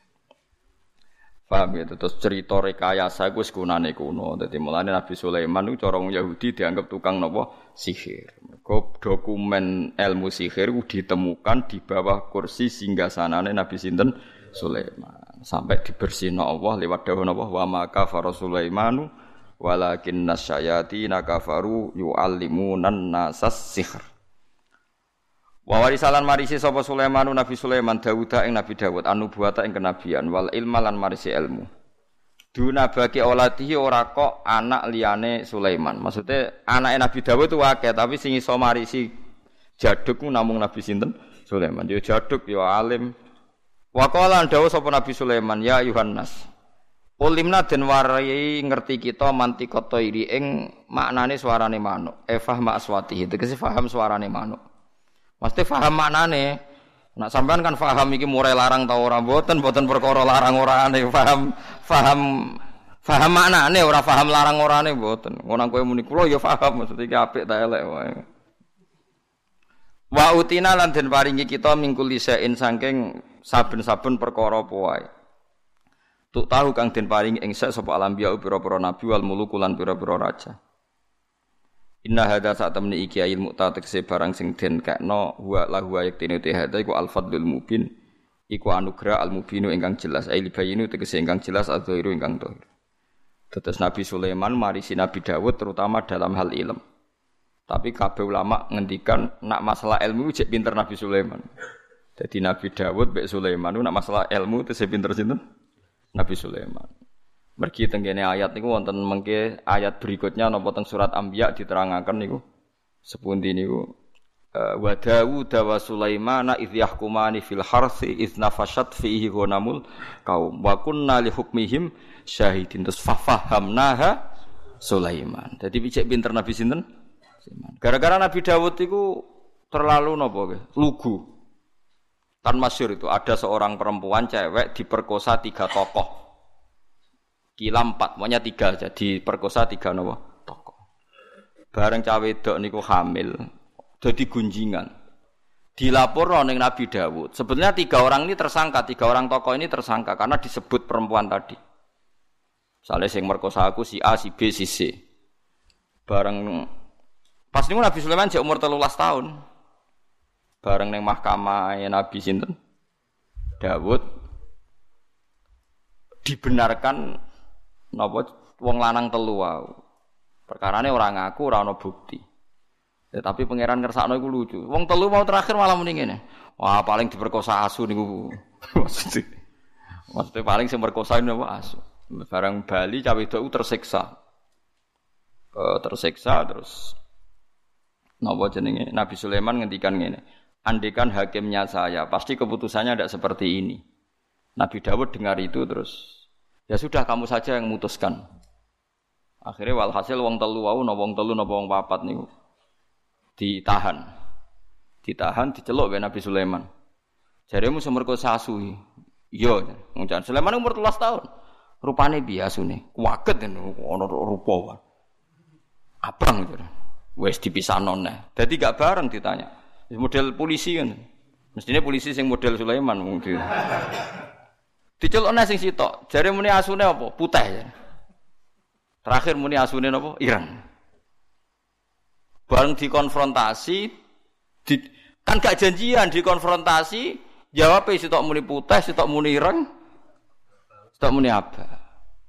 Paham ya, terus cerita rekayasa iku wis kunane kuno. Dadi mulane Nabi Sulaiman iku cara wong Yahudi dianggap tukang napa sihir. Mergo dokumen ilmu sihir iku ditemukan di bawah kursi singgasanane Nabi sinten Sulaiman. Sampai dibersihno Allah lewat dawuh napa wa ma kafara Sulaimanu walakin nasyayatina kafaru yu'allimunan nasas sihr. Wa warisalan marisi sapa Sulaiman Nabi Sulaiman Dawud ing Nabi Dawud anubuwata ing kenabian wal ilma lan marisi ilmu. Duna bagi auladihi ora kok anak liyane Sulaiman. Maksudnya anake Nabi Dawud itu akeh tapi sing iso marisi jaduk namung Nabi sinten Sulaiman. Dia jaduk ya alim. Wa qala dawuh sapa Nabi Sulaiman ya Yohanes. Ulimna den warai ngerti kita mantikata iri ing maknane suarane manuk. E fahma aswatihi tegese paham suarane manuk. Mesti paham maknane. Nak sampean kan paham iki murai larang ta ora mboten mboten perkara larang orane paham paham paham maknane ora paham larang orane mboten. Ngono kowe muni kula ya paham maksud iki apik ta elek wae. Wa utina lan den paringi kita mingkul lisain saking saben-saben perkara apa wae. Tuk tahu kang den paringi ing sak sapa alambiya pira-pira nabi wal muluk lan pira-pira raja. Inna hadza sa'tamni iki ilmu tatekse barang sing den kekno wa lahu ayaktine te hadza iku al-fadlul mubin iku anugerah al-mubinu ingkang jelas ail bayinu tegese ingkang jelas adzahiru ingkang dhahir. Tetes Nabi Sulaiman marisi Nabi Dawud terutama dalam hal ilmu. Tapi kabeh ulama ngendikan nak masalah ilmu cek pinter Nabi Sulaiman. Jadi Nabi Dawud mbek Sulaiman nak masalah ilmu tese pinter sinten? Nabi Sulaiman. Mergi tenggene ayat niku wonten mengke ayat berikutnya napa teng surat Anbiya diterangaken niku sepundi niku wa Daud wa Sulaiman idh yahkumani fil harthi idh nafashat fihi ghanamul qaum wa kunna li hukmihim syahidin tus fafahamnaha Sulaiman. Dadi picek pinter Nabi sinten? Gara-gara Nabi Daud iku terlalu napa nggih lugu. Kan masyhur itu ada seorang perempuan cewek diperkosa tiga tokoh. Kila empat, pokoknya tiga jadi perkosa tiga nopo tokoh. Bareng cawe wedok niku hamil, jadi gunjingan. Dilaporno ning Nabi Dawud. Sebenarnya tiga orang ini tersangka, tiga orang tokoh ini tersangka karena disebut perempuan tadi. Misalnya sing merkosa aku si A, si B, si C. Bareng pas niku Nabi Sulaiman jek umur tiga belas tahun. Bareng ning mahkamah Nabi sinten? Dawud dibenarkan napa wong lanang telu wae. Perkarane ora ngaku, ora ana bukti. Ya, tapi pangeran ngersakno iku lucu. Wong telu mau terakhir malah muni ngene. Wah, paling diperkosa asu niku. Maksudnya, maksudnya paling sing perkosa niku asu. Barang Bali cawe wedok tersiksa. Uh, tersiksa terus napa jenenge Nabi Sulaiman ngendikan ngene. Andekan hakimnya saya, pasti keputusannya tidak seperti ini. Nabi Dawud dengar itu terus ya sudah kamu saja yang memutuskan. Akhirnya walhasil wong telu wau napa wong telu napa wong papat niku ditahan. Ditahan diceluk karo Nabi Sulaiman. Jaremu semerkosa asu. Iya, ngucan Sulaiman umur tiga belas tahun. Rupane piye asune? Kuwaget ngono ana rupa. Abang gitu. wis dipisahno neh. Dadi gak bareng ditanya. Model polisi kan. Mestine polisi sing model Sulaiman mung di. Dicelokne sing sitok. Jare muni asune apa? Putih. Ya. Terakhir muni asune napa? Ireng. Bareng dikonfrontasi di, kan gak janjian dikonfrontasi, jawab sitok muni putih, sitok muni ireng. Sitok muni abang.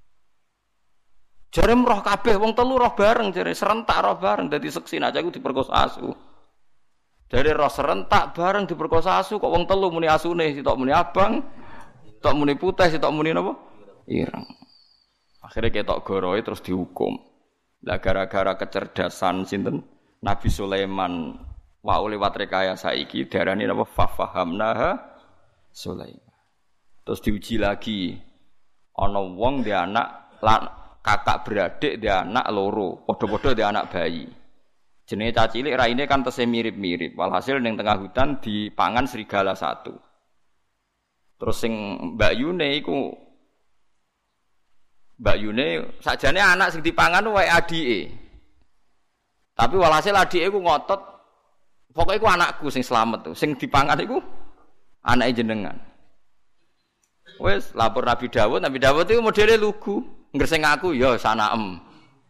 Jare roh kabeh wong telu roh bareng jare serentak roh bareng dadi seksi aja iku diperkosa asu. Jare roh serentak bareng diperkosa asu kok wong telu muni asune sitok muni abang, sitok muni putih, sitok muni napa? Ireng. Akhire ketok goroe terus dihukum. Lah gara-gara kecerdasan sinten Nabi Sulaiman wau lewat rekayasa iki darane napa fafahamnaha Sulaiman. Terus diuji lagi ana wong dhe anak lan kakak beradik dia anak loro, padha-padha dia anak bayi. Jenenge cacilik raine kan tesih mirip-mirip. Walhasil ning tengah hutan dipangan serigala satu. Terus sing Mbak Yune iku Mbak Yune sakjane anak sing dipangan wae adike. Tapi walhasil adike iku ngotot pokoke iku anakku sing slamet tuh. Sing dipangan iku anake jenengan. Wes lapor Nabi Dawud, Nabi Dawud iku modele lugu. Ngerseng aku ya sanaem.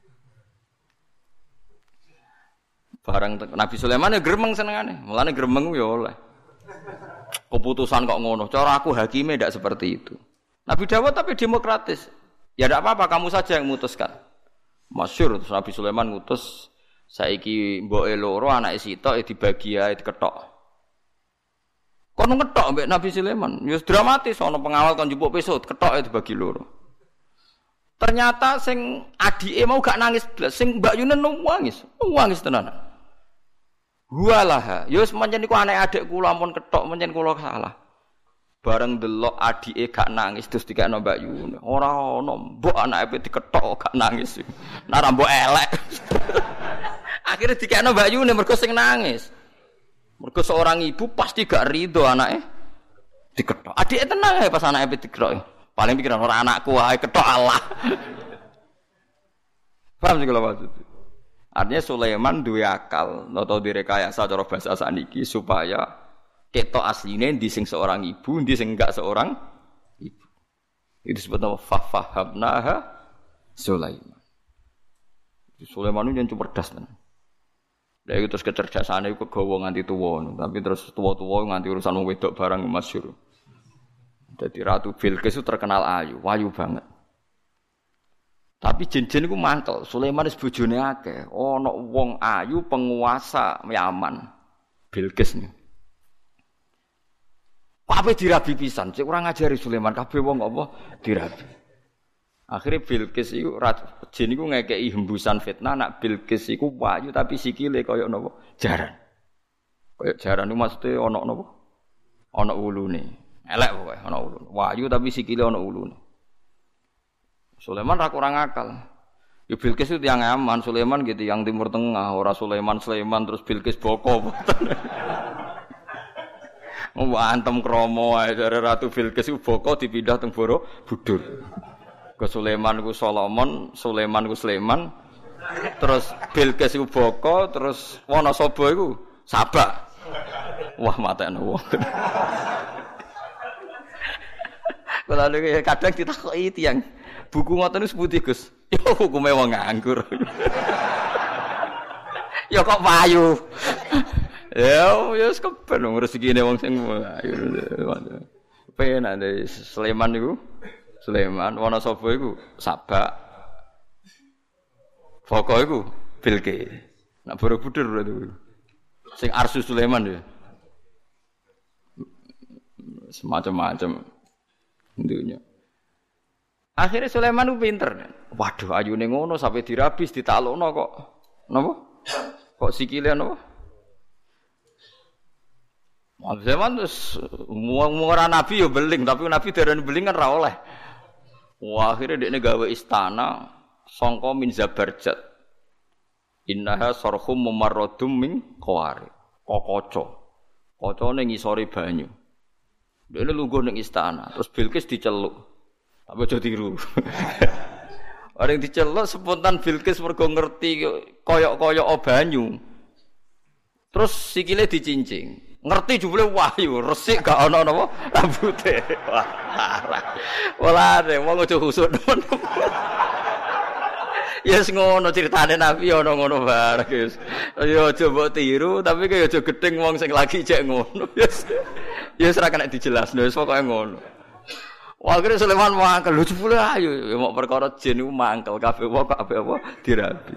Barang Nabi Sulaiman ya gremeng senengane. Mulane gremeng ya oleh. Keputusan kok ngono. Cara aku hakime ndak seperti itu. Nabi Dawud tapi demokratis. Ya ndak apa-apa kamu saja yang memutuskan. Masyhur terus Nabi Sulaiman ngutus saiki mboke loro anake sitok dibagi ae diketok. Kono ngetok mbek Nabi Sulaiman. Ya dramatis ana pengawal kon njupuk pisau ketok dibagi loro. Ternyata sing adike mau gak nangis blas, sing Mbak Yunen nangis, nangis tenan. Walah, ya wis pancen iku anak adik kula ampun ketok pancen kula salah. Bareng delok adike gak nangis terus dikekno Mbak Yunen. Ora ono mbok anake diketok gak nangis. Nara mbok elek. Akhire dikekno Mbak Yunen mergo sing nangis. Mergo seorang ibu pasti gak rido anake diketok. Adike tenang ae pas anake diketok. Paling pikiran orang anakku wae ketok Allah. Paham sih kalau maksud. Artinya Sulaiman duwe akal, atau direkayasa cara bahasa saniki supaya ketok asline ndi sing seorang ibu, ndi sing enggak seorang ibu. Itu disebut nama fafahamnaha Sulaiman. Sulaiman itu yang cerdas tenan. Lah itu terus kecerdasane iku kegawa nganti tuwa, tapi terus tuwa-tuwa nganti urusan wong wedok barang masyhur. Jadi Ratu Bilqis itu terkenal ayu, wayu banget. Tapi jin-jin itu mantel. Sulaiman wis bojone akeh. Ana wong ayu penguasa Yaman. Bilqis niku. Kabeh dirabi pisan, cek ora ngajari Sulaiman kabeh wong apa dirabi. Akhire Bilqis iku jin iku ngekeki hembusan fitnah nak Bilqis iku wayu tapi sikile kaya napa? Jaran. Kaya jaran iku maksude ana napa? Ana ulune. Elek pokoke ana ulun. Wahyu tapi sikile ana ulun. Sulaiman ra kurang akal. Ya Bilqis itu tiyang aman, Sulaiman gitu yang Timur Tengah, ora Sulaiman Sulaiman terus Bilqis boko. Wong antem kromo ae jare Ratu Bilqis iku boko dipindah teng Borobudur. Ke Sulaiman iku Solomon, Sulaiman iku Sulaiman. Terus Bilqis iku boko, terus Wonosobo iku Sabak. Wah matekno wong. Kalau kadang ditakoki tiyang buku ngoten niku sepundi Gus? Ya hukume wong nganggur. Ya kok payu. Ya wis keben rezekine wong sing ayu. Penak dari Sleman niku. Sleman, Wonosobo iku Sabak. Pokok iku Bilqis. Nak Borobudur berarti. Sing Arsu Sulaiman ya. Semacam-macam. Dunia. Akhirnya Sulaiman itu pinter. Waduh, ayune ngono sampai dirabis ditalukno kok. Napa? Kok sikile napa? Sulaiman terus ora nabi yo beling, tapi nabi darani beling kan ra oleh. Wah, akhirnya dekne gawe istana sangka min Zabarjat. Innaha sarhum mumarradum min qawari. Kokoco. Kocone ngisore banyu. Dene lungguh ning istana, terus Bilqis diceluk. Apa aja tiru. Orang diceluk spontan Bilqis mergo ngerti koyok-koyok banyu. Terus sikile dicincing. Ngerti jebule wahyu, resik gak ana napa rambute. Wah, parah. Walane wong aja husuk. Yes ngono critane Nabi ana ngono bareng guys. Ya aja mbok tiru tapi kaya aja gedeng wong sing lagi cek ngono. Yes. Yes ora kena dijelasno wis pokoke ngono. Wah kira Sulaiman mangkel lho jebule ayo ya mok perkara jin iku mangkel kabeh wong kabeh apa dirabi.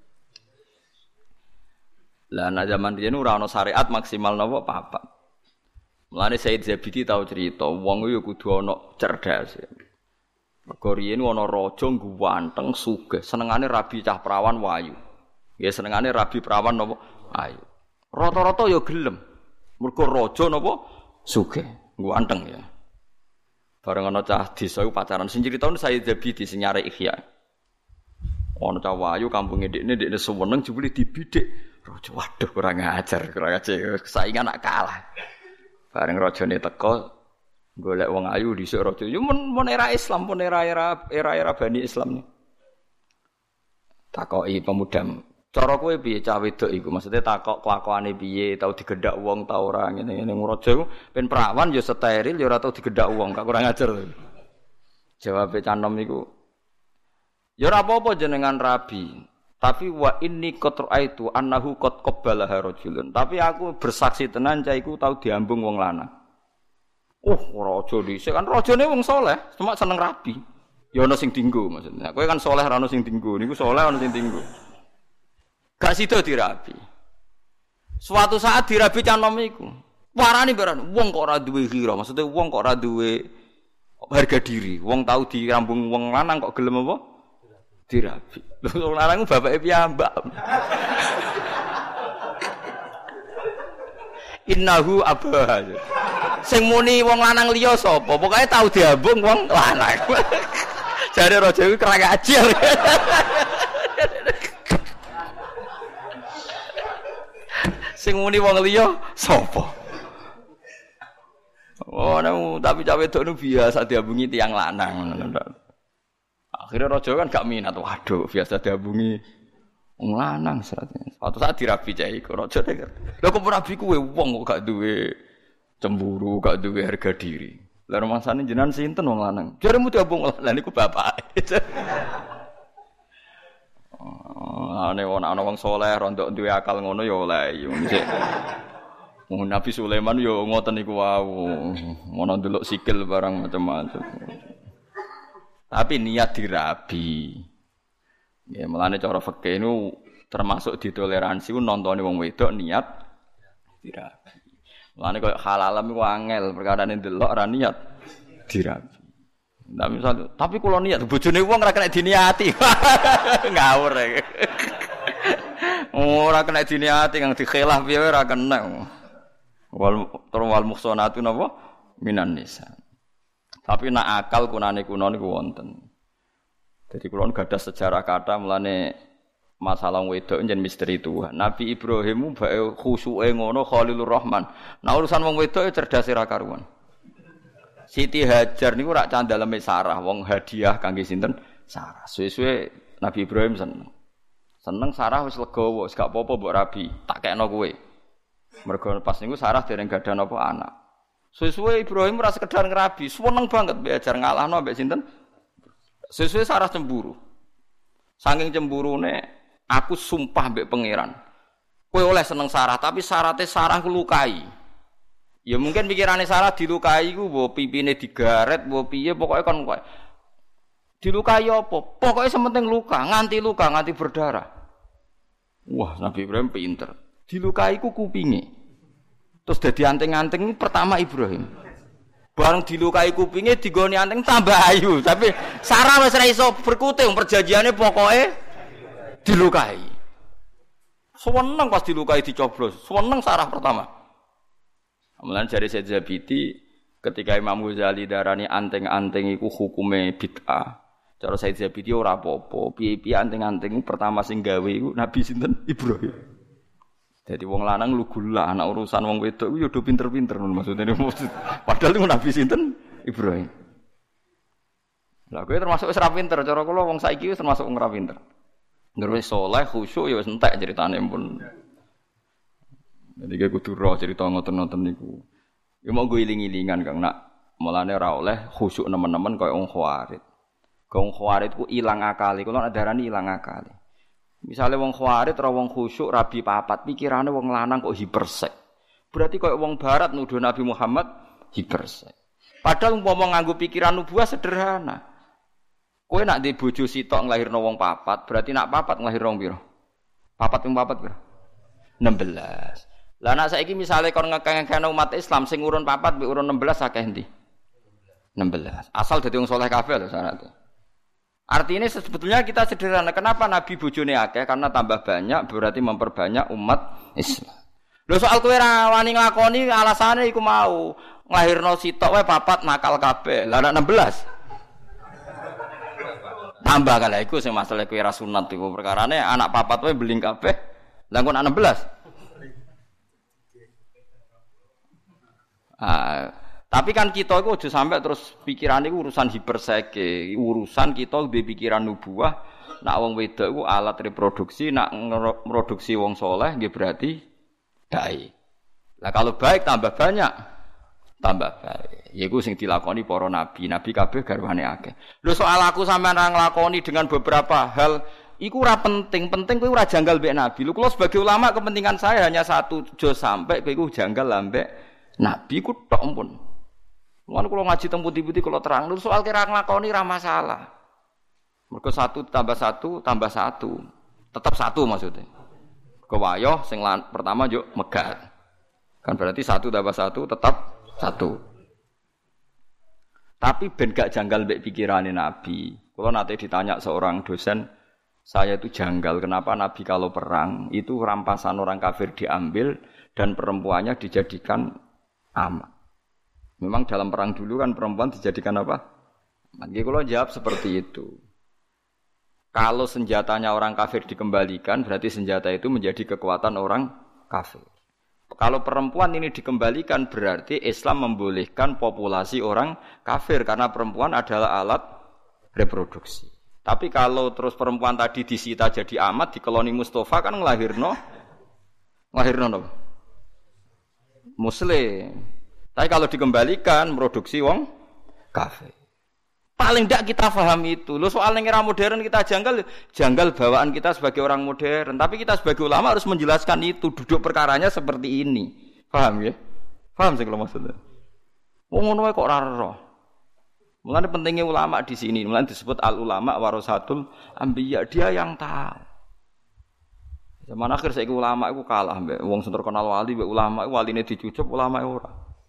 Lah nek zaman riyen ora ana syariat maksimal napa papat. Mulane Said Zabidi tau cerita wong yo kudu ana cerdas. Mergo riyen ana raja ganteng sugih, senengane rabi cah prawan wayu. Ya senengane rabi prawan napa ayu. Rata-rata ya gelem. Mergo raja napa sugih, ganteng ya. Bareng ana cah desa iku pacaran sing critaun Said Zabidi sing nyare Ihya. Ana cah wayu kampunge ndekne ndekne suweneng jebule dibidik. Raja waduh kurang ajar, kurang ajar saingan nak kalah. Bareng rajane teko golek wong ayu dhisik raja. Yo men, men era Islam, pun era-era era-era Bani Islam ni. Takoki pemuda, cara kowe piye cah wedok iku? Maksudnya takok kelakuane piye, tau digendhak wong ta ora ngene-ngene. Raja iku ben perawan ya steril ya ora tau digendhak wong, gak kurang ajar. Jawabe canom iku ya ora apa-apa jenengan rabi, tapi wa inni qad ra'aitu annahu qad qabbalaha rajulun. Tapi aku bersaksi tenan cah iku tau diambung wong lanang. Oh, raja dhisik kan rajane wong saleh, cuma seneng rabi. Ya ana sing dinggo maksudnya. Kowe kan saleh ora ana sing dinggo, niku saleh ana sing dinggo. Gak sida dirabi. Suatu saat dirabi canom iku. Warani beran, wong kok ora duwe ghira, maksudnya wong kok ora duwe harga diri. Wong tau dirambung wong lanang kok gelem apa? Dirabi. Lho wong lanang ku bapake piyambak. Innahu abah. Sing muni wong lanang liya sapa? Pokoke tau diambung wong lanang. Jare raja iku kerang ajar. Sing muni wong liya sapa? Oh, nemu tapi cawe wedok nu biasa diambungi tiyang lanang. Akhirnya raja kan gak minat. Waduh, biasa diambungi wong lanang seratnya. Suatu saat dirabi cah iku raja denger. Lha kok rabi kuwe wong kok gak duwe cemburu, gak duwe harga diri. Lah rumangsane jenengan sinten wong lanang? Jaremu diambung lan niku bapake. Oh, ane ana wong saleh rondok duwe akal ngono ya oleh yo. Wong Nabi Sulaiman yo ngoten niku wau. Ngono ndelok sikil barang macam-macam. Tapi niat dirabi. Ya mulane cara fikih niku termasuk ditoleransi ku nontone wong wedok niat dirabi. Mulane koyo halalam iku angel, perkarane ndelok ora niat dirabi. Nah, misal, tapi kula niat bojone wong ora kena diniati. Ngawur e. Ora kena diniati kang dikhilaf piye ora kena. Wal wal muhsanatu napa minan nisa. Tapi nak akal kunane kuno niku wonten. Jadi kula gadah sejarah kata mulane masalah wedok njen misteri Tuhan. Nabi Ibrahim bae khusuke ngono Khalilur Rahman. Nah urusan wong wedok cerdas ra karuan. Siti Hajar niku rak candaleme Sarah, wong hadiah kangge sinten? Sarah. Suwe-suwe Nabi Ibrahim seneng. Seneng Sarah wis legowo, wis gak apa-apa mbok rabi, tak kekno kowe. Mergo pas niku Sarah dereng gadah napa anak. Suwe-suwe Ibrahim ora sekedar ngrabi, seneng banget mbek Hajar ngalahno mbek sinten? Suwe-suwe Sarah cemburu. Saking cemburune aku sumpah mbek pangeran. Kowe oleh seneng Sarah, tapi syaratnya Sarah ku lukai. Ya mungkin pikirane Sarah dilukai ku mbok pipine digaret, mbok piye pokoke kon kowe. Dilukai apa? Pokoke sementing luka, nganti luka, nganti berdarah. Wah, Nabi Ibrahim pinter. Dilukai ku kupinge. Terus dadi anting-anting pertama Ibrahim. Bareng dilukai kupinge digoni anting tambah ayu, tapi Sarah wis ora iso berkutik perjanjiane pokoke dilukai. Seneng pas dilukai dicoblos. Seneng Sarah pertama. Mulane jare Said Zabidi ketika Imam Ghazali darani anting-anting iku hukume bid'ah. Cara Said Zabidi ora apa-apa. Piye-piye anting-anting pertama sing gawe iku Nabi sinten? Ibrahim. Dadi wong lanang lugu lah anak urusan wong wedok iku ya do pinter-pinter maksudnya. Padahal iku Nabi sinten? Ibrahim. Lah kowe termasuk wis ra pinter, cara kula wong saiki wis termasuk wong ra pinter. Ngerti saleh khusyuk ya wis entek ceritane pun. Jadi kayak kudu roh cerita ngoten-ngoten niku. Ya mau gue iling-ilingan Kang nak mulane ora oleh khusyuk nemen-nemen kaya wong khawarit. Wong khawarit ku ilang akale, kula nak darani ilang akale. Misale wong khawarit ora wong khusyuk rabi papat, pikirane wong lanang kok hipersek. Berarti kaya wong barat nuduh Nabi Muhammad hipersek. Padahal umpama nganggo pikiran nubuwah sederhana. Kowe nak ndek bojo sitok nglahirno wong papat, berarti nak papat nglahirno piro? Papat ping papat piro? enam belas. Lah nek saiki misale kon ngekeng-ngekeng umat Islam sing urun papat mbek urun enam belas akeh endi? enam belas. Asal dadi wong saleh kabeh lho syaratnya. Artinya sebetulnya kita sederhana. Kenapa Nabi bojone akeh? Karena tambah banyak berarti memperbanyak umat Islam. Lho soal kowe ra wani nglakoni alasane iku mau nglahirno sitok wae papat nakal kabeh. Lah nek enam belas. Tambah kala iku sing masalah kowe ra sunat iku perkarane anak papat wae beling kabeh. Lah kok enam belas. Ah, tapi kan kita itu aja sampai terus pikiran itu urusan hiperseke, urusan kita di pikiran nubuah, nak wong wedok itu alat reproduksi, nak produksi wong soleh, dia berarti baik. Lah kalau baik tambah banyak, tambah baik. Yaiku sing dilakoni para nabi, nabi kabeh garwane akeh. Lho soal aku sampean ra nglakoni dengan beberapa hal, iku ora penting, penting kowe ora janggal mbek nabi. Lho kula sebagai ulama kepentingan saya hanya satu, aja sampai kowe iku janggal ambek nabi ku tok pun. Mulane kula ngaji teng putih-putih kula terang lho soal kira nglakoni ra masalah. Mergo satu tambah satu tambah satu. Tetap satu maksudnya. Kewayoh sing pertama yo megat. Kan berarti satu tambah satu tetap satu. Tapi ben gak janggal mbek pikirane nabi. Kula nate ditanya seorang dosen, saya itu janggal kenapa nabi kalau perang itu rampasan orang kafir diambil dan perempuannya dijadikan amat. Memang dalam perang dulu kan perempuan dijadikan apa? Mungkin kalau jawab seperti itu. Kalau senjatanya orang kafir dikembalikan, berarti senjata itu menjadi kekuatan orang kafir. Kalau perempuan ini dikembalikan, berarti Islam membolehkan populasi orang kafir karena perempuan adalah alat reproduksi. Tapi kalau terus perempuan tadi disita jadi amat di koloni Mustafa kan ngelahirno, ngelahirno no? Muslim. Tapi kalau dikembalikan produksi wong kafir. Paling tidak kita paham itu. Loh soal era modern kita janggal, janggal bawaan kita sebagai orang modern. Tapi kita sebagai ulama harus menjelaskan itu. Duduk perkaranya seperti ini. Paham ya? Paham sih kalau maksudnya. Wong ngono kok ora roh. Mulane pentingnya ulama di sini. Mulane disebut al ulama warasatul anbiya. Dia yang tahu. Zaman akhir saiki ulama iku kalah mbek wong sing terkenal wali mbek ulama iku waline dicucup ulama ora.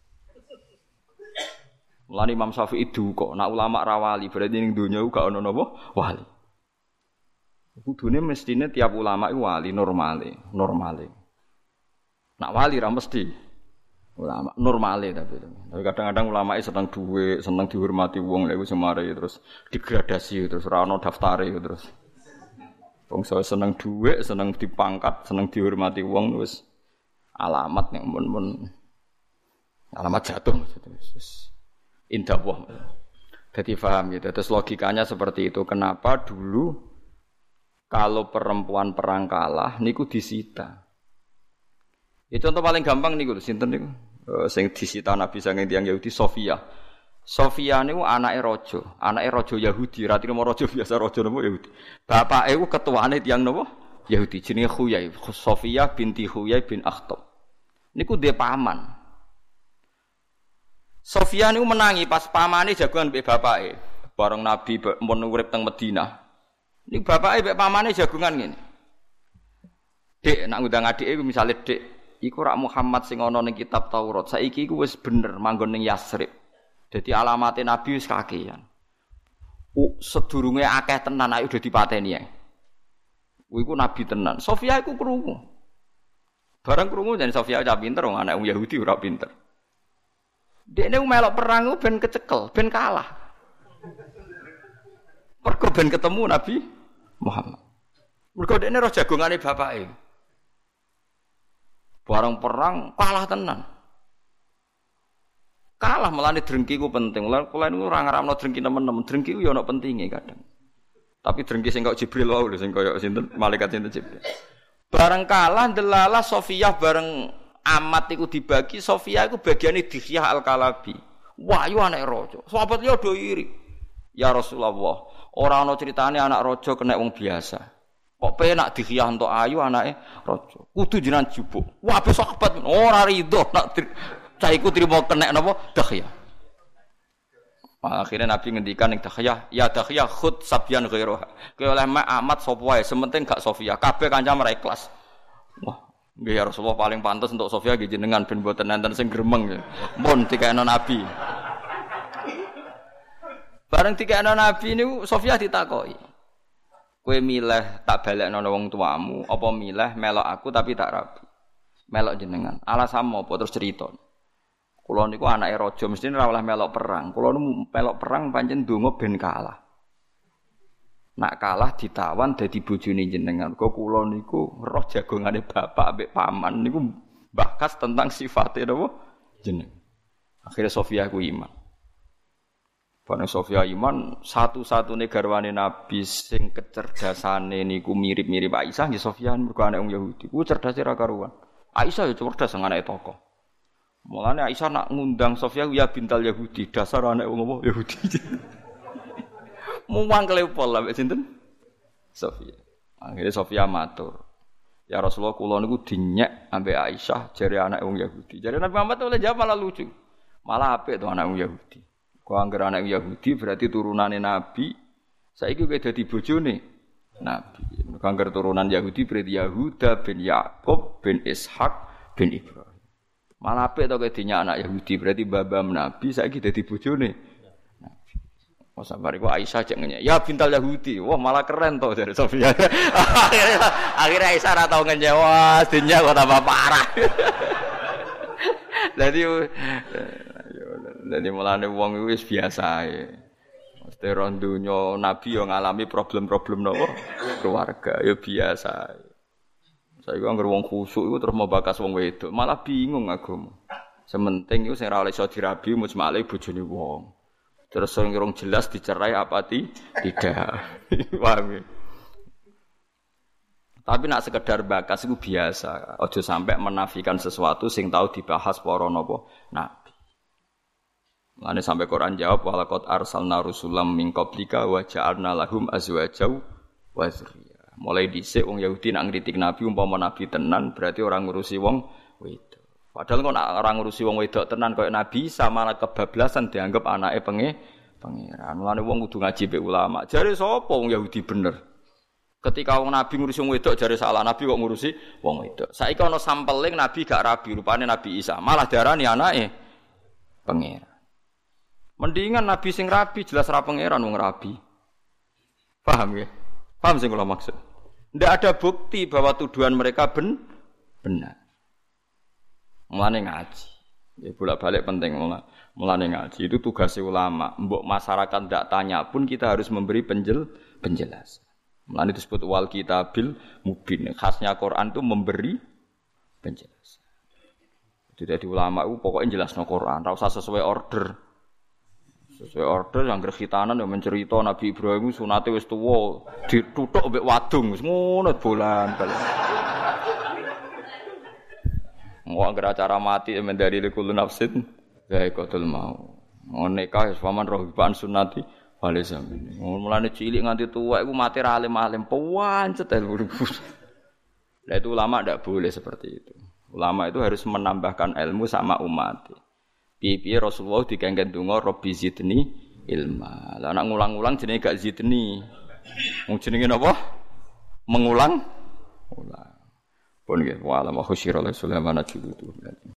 Mulane Imam Syafi'i duka nek ulama ra wali berarti ning donya iku gak ono napa wali. Kudune mestine tiap ulama iku wali normale, normale. Nek wali ra mesti ulama normale tapi. Tapi kadang-kadang ulama iki seneng dhuwit, seneng dihormati wong lha iku semare terus digradasi terus ora ono daftare terus. Wong seneng dhuwit, seneng dipangkat, seneng dihormati wong wis alamat nek mun-mun alamat jatuh wis indah wah. Dadi paham gitu. Terus logikanya seperti itu. Kenapa dulu kalau perempuan perang kalah niku disita. Itu contoh paling gampang niku sinten niku? Uh, sing disita Nabi saking tiyang Yahudi Sofia. Sofia niku anake raja, anake raja Yahudi, ra trimo raja biasa raja napa Yahudi. Bapake iku ketuane tiyang napa? Yahudi jenenge Khuyai, Sofia binti Khuyai bin Akhtab. Niku dhe paman. Sofia niku menangi pas pamane jagoan mbek bapake. Bareng Nabi mun urip teng Madinah. Niku bapake mbek pamane jagongan ngene. Dik, nak ngundang adike iku misale Dik, iku rak Muhammad sing ana ning kitab Taurat. Saiki iku wis bener manggon ning Yasrib. Jadi alamatnya Nabi wis kakean. Uh, sedurunge akeh tenan ayo udah dipateni ae. Iku Nabi tenan. Sofia iku krungu. Barang krungu jan Sofia cah pinter wong anak Yahudi ora pinter. Dekne melok perang ben kecekel, ben kalah. Mergo ben ketemu Nabi Muhammad. Mergo dekne roh jagongane bapake. Barang perang kalah tenan. Kalah melane drengki ku penting. Lan kula niku ora ngaramno drengki nemen-nemen. Drengki ku ya ana pentinge kadang. Tapi drengki sing kok Jibril wae lho sing kaya sinten malaikat sinten Jibril. Bareng kalah delalah Sofiyah bareng amat iku dibagi, Sofiyah iku bagiane Dihyah Al-Kalabi. Wahyu anak raja. Sahabat liya do iri. Ya Rasulullah, ora ana critane anak raja kena wong biasa. Kok penak Dihyah entuk ayu anake raja. Kudu jenengan jupuk. Wah, sahabat ora rido nak cah iku trimo kena napa Dihyah. Akhirnya Nabi ngendikan ning Dihyah, ya Dihyah khud sabyan ghairoha. Kowe oleh mak amat sapa wae, sementing gak Sofia. Kabeh kancam ra ikhlas. Wah, nggih ya Rasulullah paling pantes untuk Sofia nggih jenengan ben mboten enten sing gremeng. Mun dikene Nabi. Bareng dikene Nabi niku Sofia ditakoki. Kowe milih tak balekno wong tuamu apa milih melok aku tapi tak rabi? Melok jenengan. Alasanmu apa terus cerita. Kula niku anake raja mesti ora oleh melok perang. Kula niku melok perang pancen ndonga ben kalah. Nak kalah ditawan dadi bojone jenengan. Kok kula niku roh jagongane bapak ambek paman niku bahas tentang sifate napa jeneng. Akhirnya Sofia ku iman. Bane Sofia iman satu-satune garwane Nabi sing kecerdasane niku mirip-mirip Aisyah nggih Sofia mergo anak wong Yahudi. Ku cerdase ra karuan. Aisyah ya cerdas sing anake tokoh. Mulane Aisyah nak ngundang Sofia ya bintal Yahudi, dasar anak wong apa Yahudi. Muwang kelepol lah mek sinten? Sofia. Akhire Sofia matur. Ya Rasulullah kula niku dinyek ambek Aisyah jare anak wong Yahudi. Jare Nabi Muhammad oleh jawab malah lucu. Malah apik to anak wong Yahudi. Kok anggere anak Yahudi berarti turunane Nabi. Saiki kowe dadi bojone Nabi. Anggere turunan Yahudi berarti Yahuda bin Yakub bin Ishak bin Ibrahim. Malah apik to kowe dinyak anak Yahudi berarti babam Nabi saiki dadi bojone Nabi. Oh sabar iku Aisyah cek ngenyek. Ya bintal Yahudi. Wah malah keren to jare Sofia. akhirnya akhirnya Aisyah ora tau ngenyek. Wah dinyak kok tambah parah. Dadi dadi mulane wong iku wis biasa ae. Mesti ron donya Nabi yo ngalami problem-problem napa keluarga ya biasa ae. Saiki anggere wong khusuk iku terus mau bakas wong wedok, malah bingung agama. Sementing iku sing ora iso dirabi mujmale bojone wong. Terus sing urung jelas dicerai apa ti? Tidak. Paham ya? Tapi nak sekedar bakas iku biasa. Aja sampai menafikan sesuatu sing tahu dibahas para napa nabi. Mane sampai Quran jawab walaqad arsalna rusulam min qablika wa ja'alna lahum azwajan wa dzurriyyah. Mulai dhisik wong Yahudi nak ngritik Nabi umpama Nabi tenan berarti orang ngurusi wong wedok. Padahal kok orang ngurusi wong wedok tenan koyo Nabi sama kebablasan dianggap anake penge pangeran. Mulane wong kudu ngaji be ulama. Jare sapa wong Yahudi bener? Ketika wong Nabi ngurusi wong wedok jare salah Nabi kok ngurusi wong wedok. Saiki ana sampeling Nabi gak rabi rupane Nabi Isa. Malah darani anake pangeran. Mendingan Nabi sing rabi jelas ra pangeran wong rabi. Paham ya? Paham sing kula maksud? Ndak ada bukti bahwa tuduhan mereka ben benar. Mulane ngaji. Ya bolak-balik penting mulane ngaji. Itu tugas ulama. Mbok masyarakat ndak tanya pun kita harus memberi penjel penjelasan. Mulane disebut wal kitabil mubin. Khasnya Quran itu memberi penjelasan. Jadi ulama itu pokoknya jelasno Quran, ora usah sesuai order. Sesuai order yang gerhitanan yang mencerita Nabi Ibrahim sunate wis tuwa dituthuk mbek wadung wis ngono bolan balik. Wong anggere acara mati mendari likul nafsin zaikatul mau. Ngonek wis paman rohiban sunnati wale sampeyan. Mulane cilik nganti tuwa iku mati ra alim-alim pancet ilmu. Lah itu ulama ndak boleh seperti itu. Ulama itu harus menambahkan ilmu sama umat. Piye-piye Rasulullah dikengken donga Rabbi zidni ilma. Lah nek ngulang-ulang jenenge gak zidni. Wong jenenge napa? Mengulang. Ulang. Pun nggih wa alam khusyira Sulaiman ajlutu.